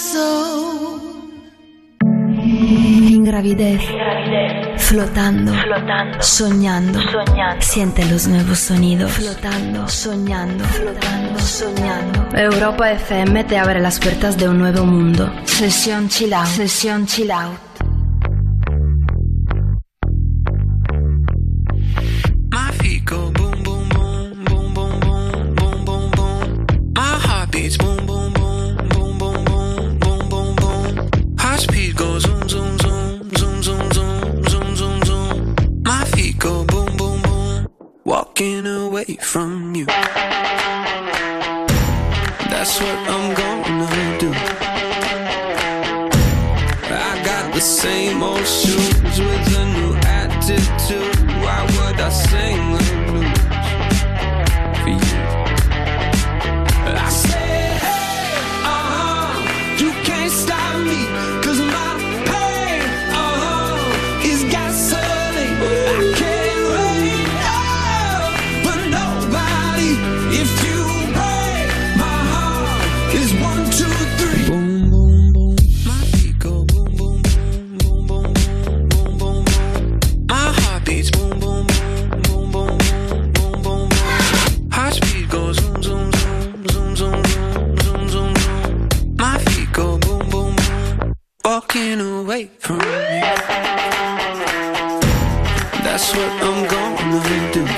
soul. Ingravidez. Flotando. Soñando. Siente los nuevos sonidos. Flotando. Soñando. Europa FM te abre las puertas de un nuevo mundo. Sesión Chill Out. Sesión Chill Out. My feet go boom, boom, boom, boom, boom, boom, boom, boom, boom. My heart beats boom, boom, boom, boom, boom, boom, boom, boom, boom. Heart speed goes zoom, zoom, zoom, zoom, zoom, zoom, zoom, zoom, zoom. My feet go boom, boom, boom. Walking away from you. That's what I'm gonna do. I got the same old shoes with a new attitude. Why would I sing the blues for you? I said, hey, you can't stop me, 'cause my pain, is gasoline. I can't wait, for nobody. If you break my heart, is 1, 2, 3. Boom, boom, boom. My feet go boom, boom, boom, boom, boom, boom, boom, boom. My heart beats boom, boom, boom, boom, boom, boom, boom, boom, boom. Heart speed goes zoom, zoom, zoom, zoom, zoom, zoom, zoom, zoom, zoom. My feet go boom, boom, boom. Walking away from you. That's what I'm gonna do.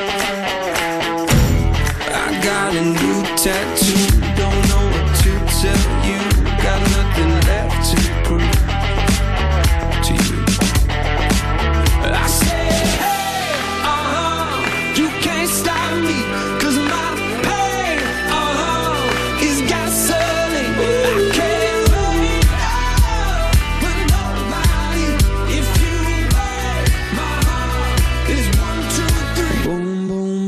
I got a new tattoo. Don't know what to tell you. Got nothing left to prove to you. I said, hey, you can't stop me, 'cause my pain, is gasoline. I can't wait, for nobody. If you break my heart, is 1, 2, 3. Boom, boom, boom.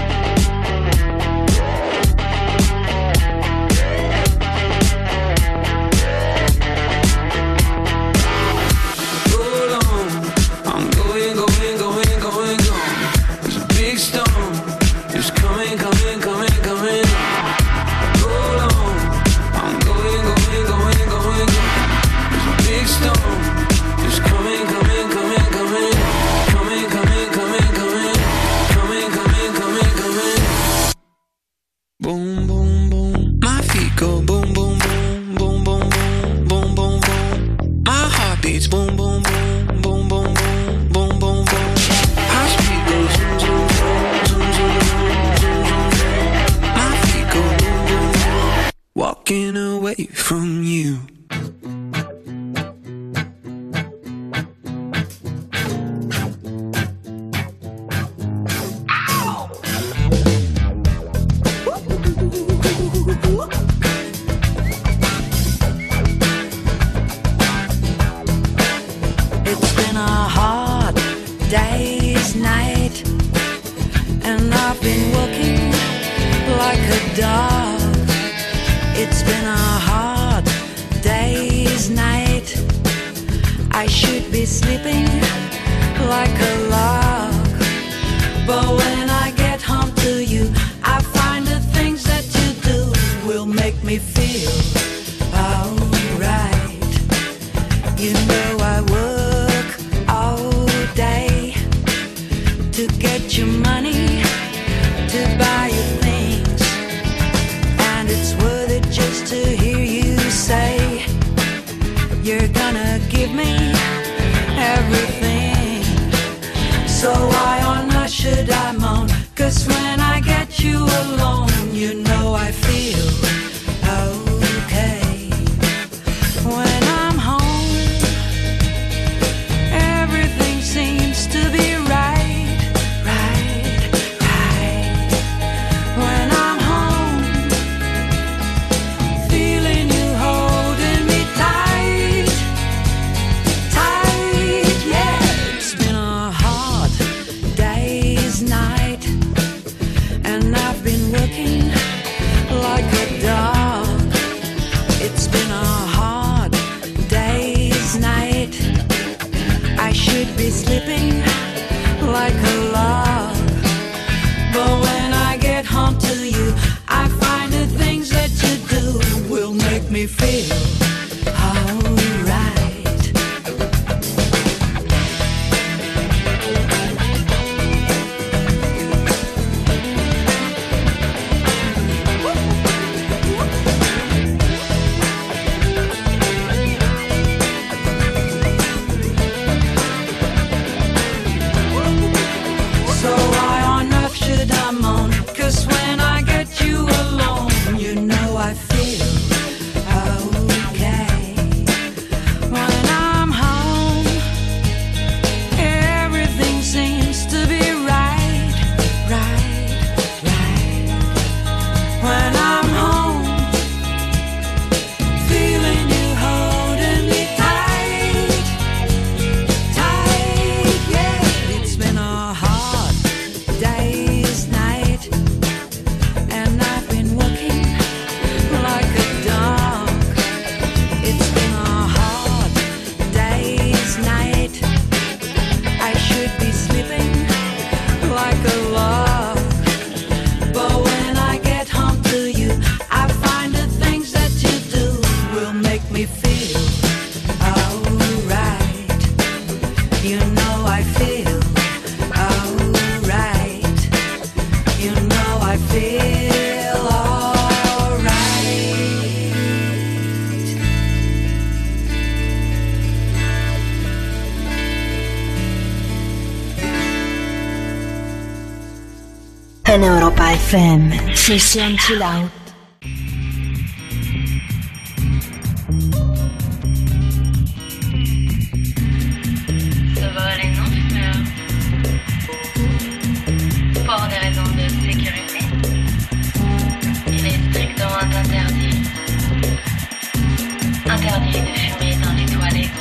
Hold on, I'm going, going, going, going, going. There's a big storm, it's coming, coming, coming, coming. Hold on, I'm going, going, going, going, going. There's a big storm, it's coming, coming, coming, coming. Coming, coming, coming, coming. Coming, coming, coming, coming. Boom, boom, boom. My feet go boom, boom, boom, boom, boom, boom, boom, boom, boom. My heart beats boom, boom, boom, boom, boom, boom, boom, boom, boom. Heart speed goes zoom, zoom, zoom, zoom, zoom, zoom, zoom, zoom. My feet go boom, boom, boom. Walking away from you. It's been a hard day's night, and I've been working like a dog. It's been a hard day's night. I should be sleeping like a log, but when I get home to you, I find the things that you do will make me feel alright. You know I work all day to get your money, to buy you things, and it's worth it just to hear you say you're gonna give me everything. So why on earth should I moan? 'Cause when I get you alone, you know I feel okay. When I'm home, everything seems to be right, right, right. When I'm home, feeling you holding me tight, tight, yeah. It's been a hard day's night, and I've been working like a dog. It's been a hard day's night. I should be sleeping like a log, but when I get home to you, I find the things that you do will make me feel en Europa FM. Sesión Chill Out. Ça va aller, non, fumeur? Pour des raisons de sécurité. Il est strictement interdit de fumer dans les toilettes.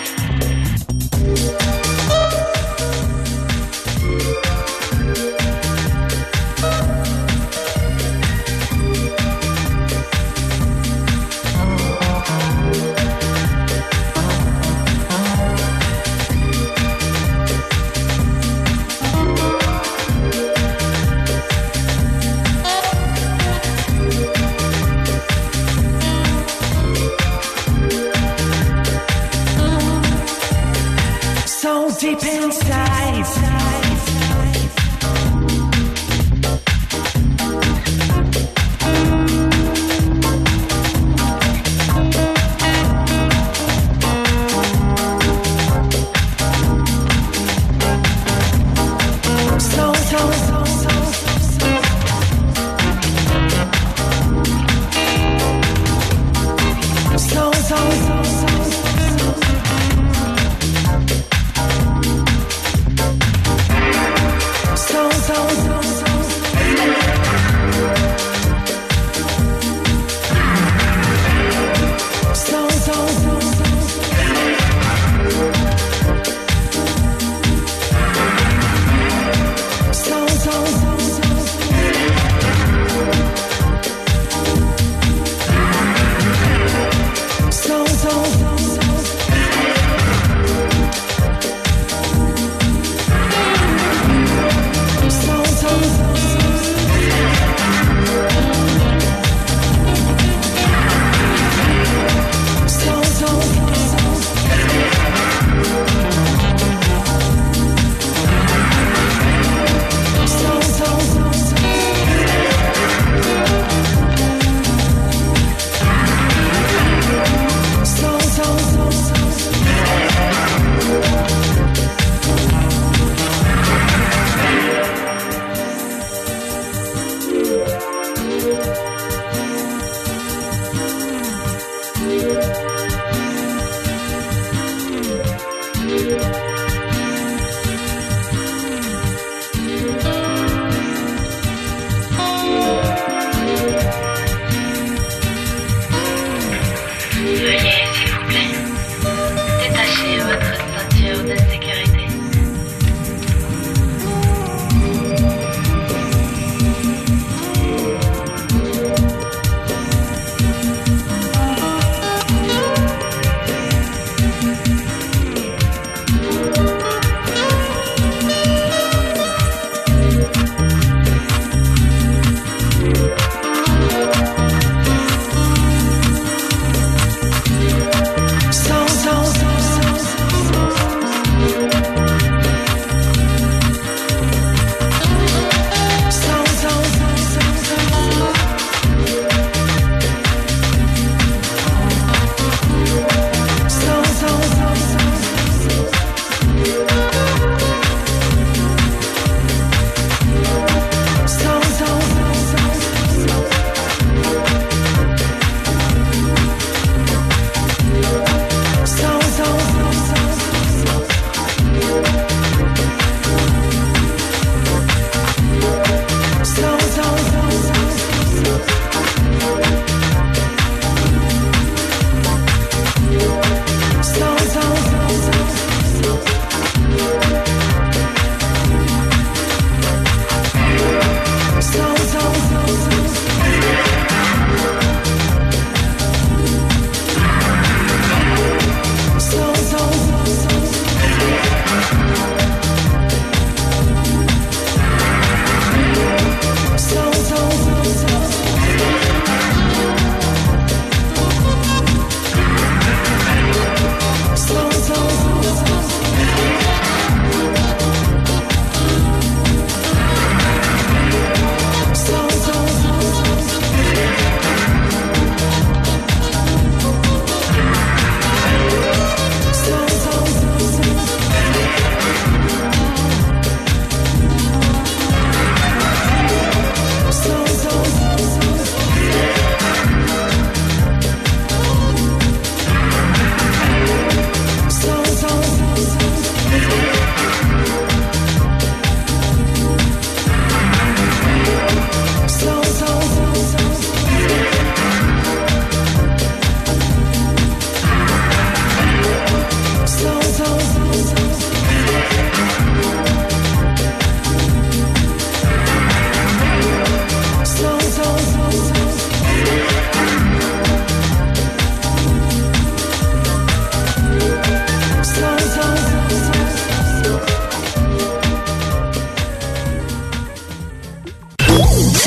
Deep inside,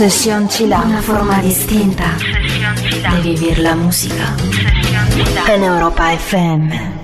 Sesión Chill Out, una forma distinta de vivir la música en Europa FM.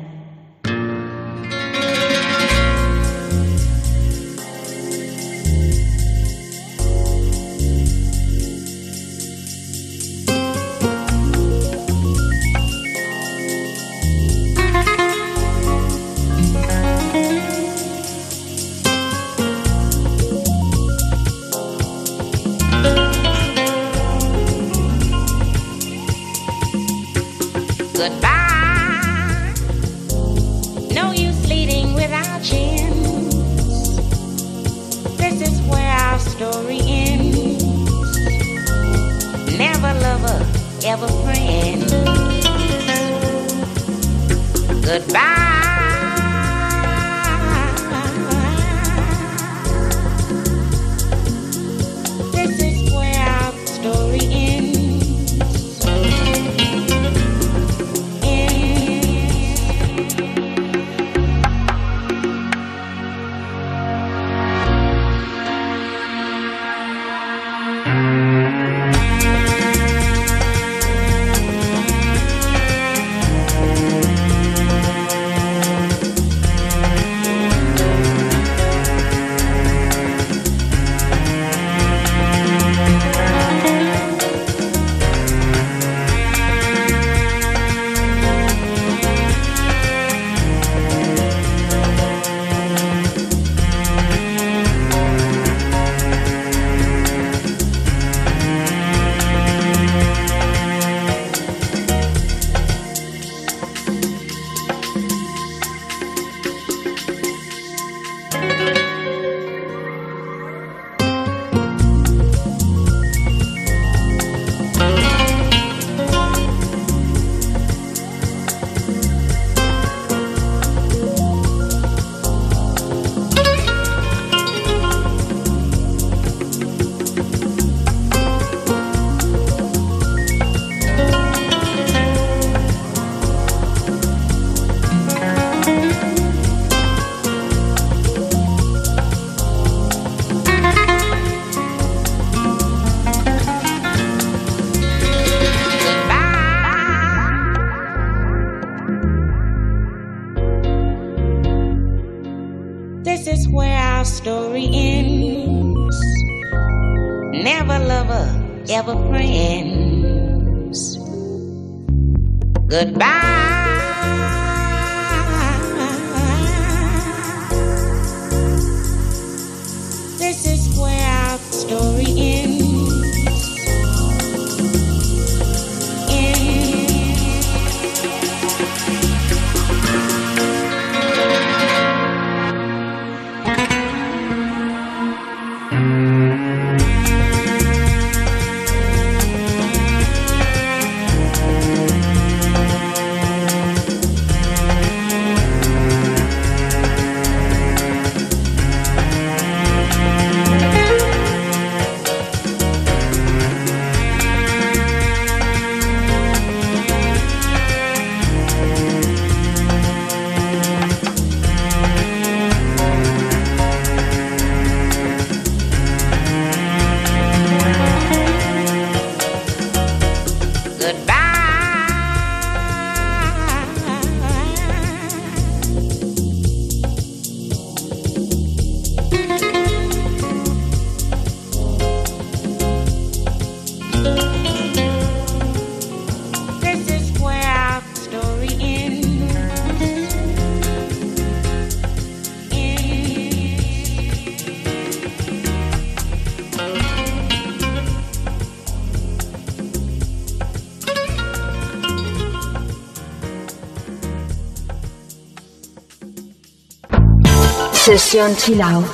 Sesión Chill Out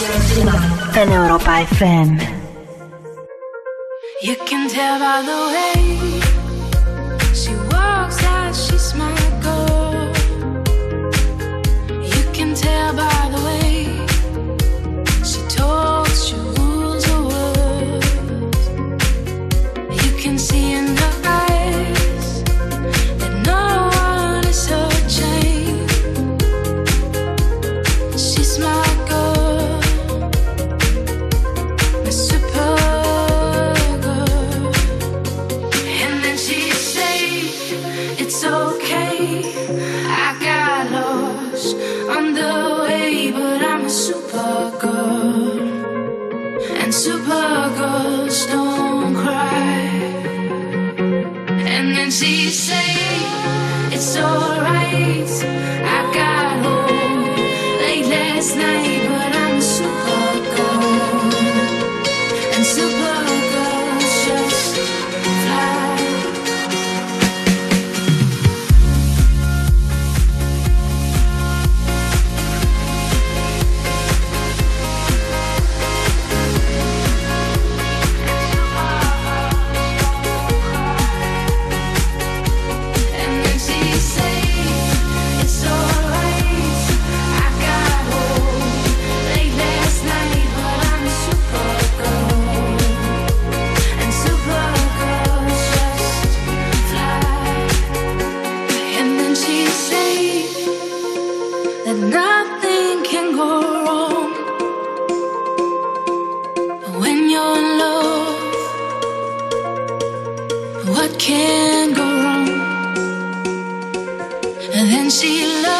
en Europa FM. You can tell by the way she walks that she's my girl. You can tell by the way she talks, she rules her words. You can see in her eyes that no one is her chain. She's my girl, my super. it's okay. I got lost on the way, but I'm a super girl, and super girls don't cry. And then she say, it's alright. I got home late last night, but I'm a super girl, and super girls just fly. And then she say, it's alright. I got home late last night, but I'm a super girl, and super girls just fly. And then she say that nothing can go wrong when you're in love. What can go wrong? And then she loves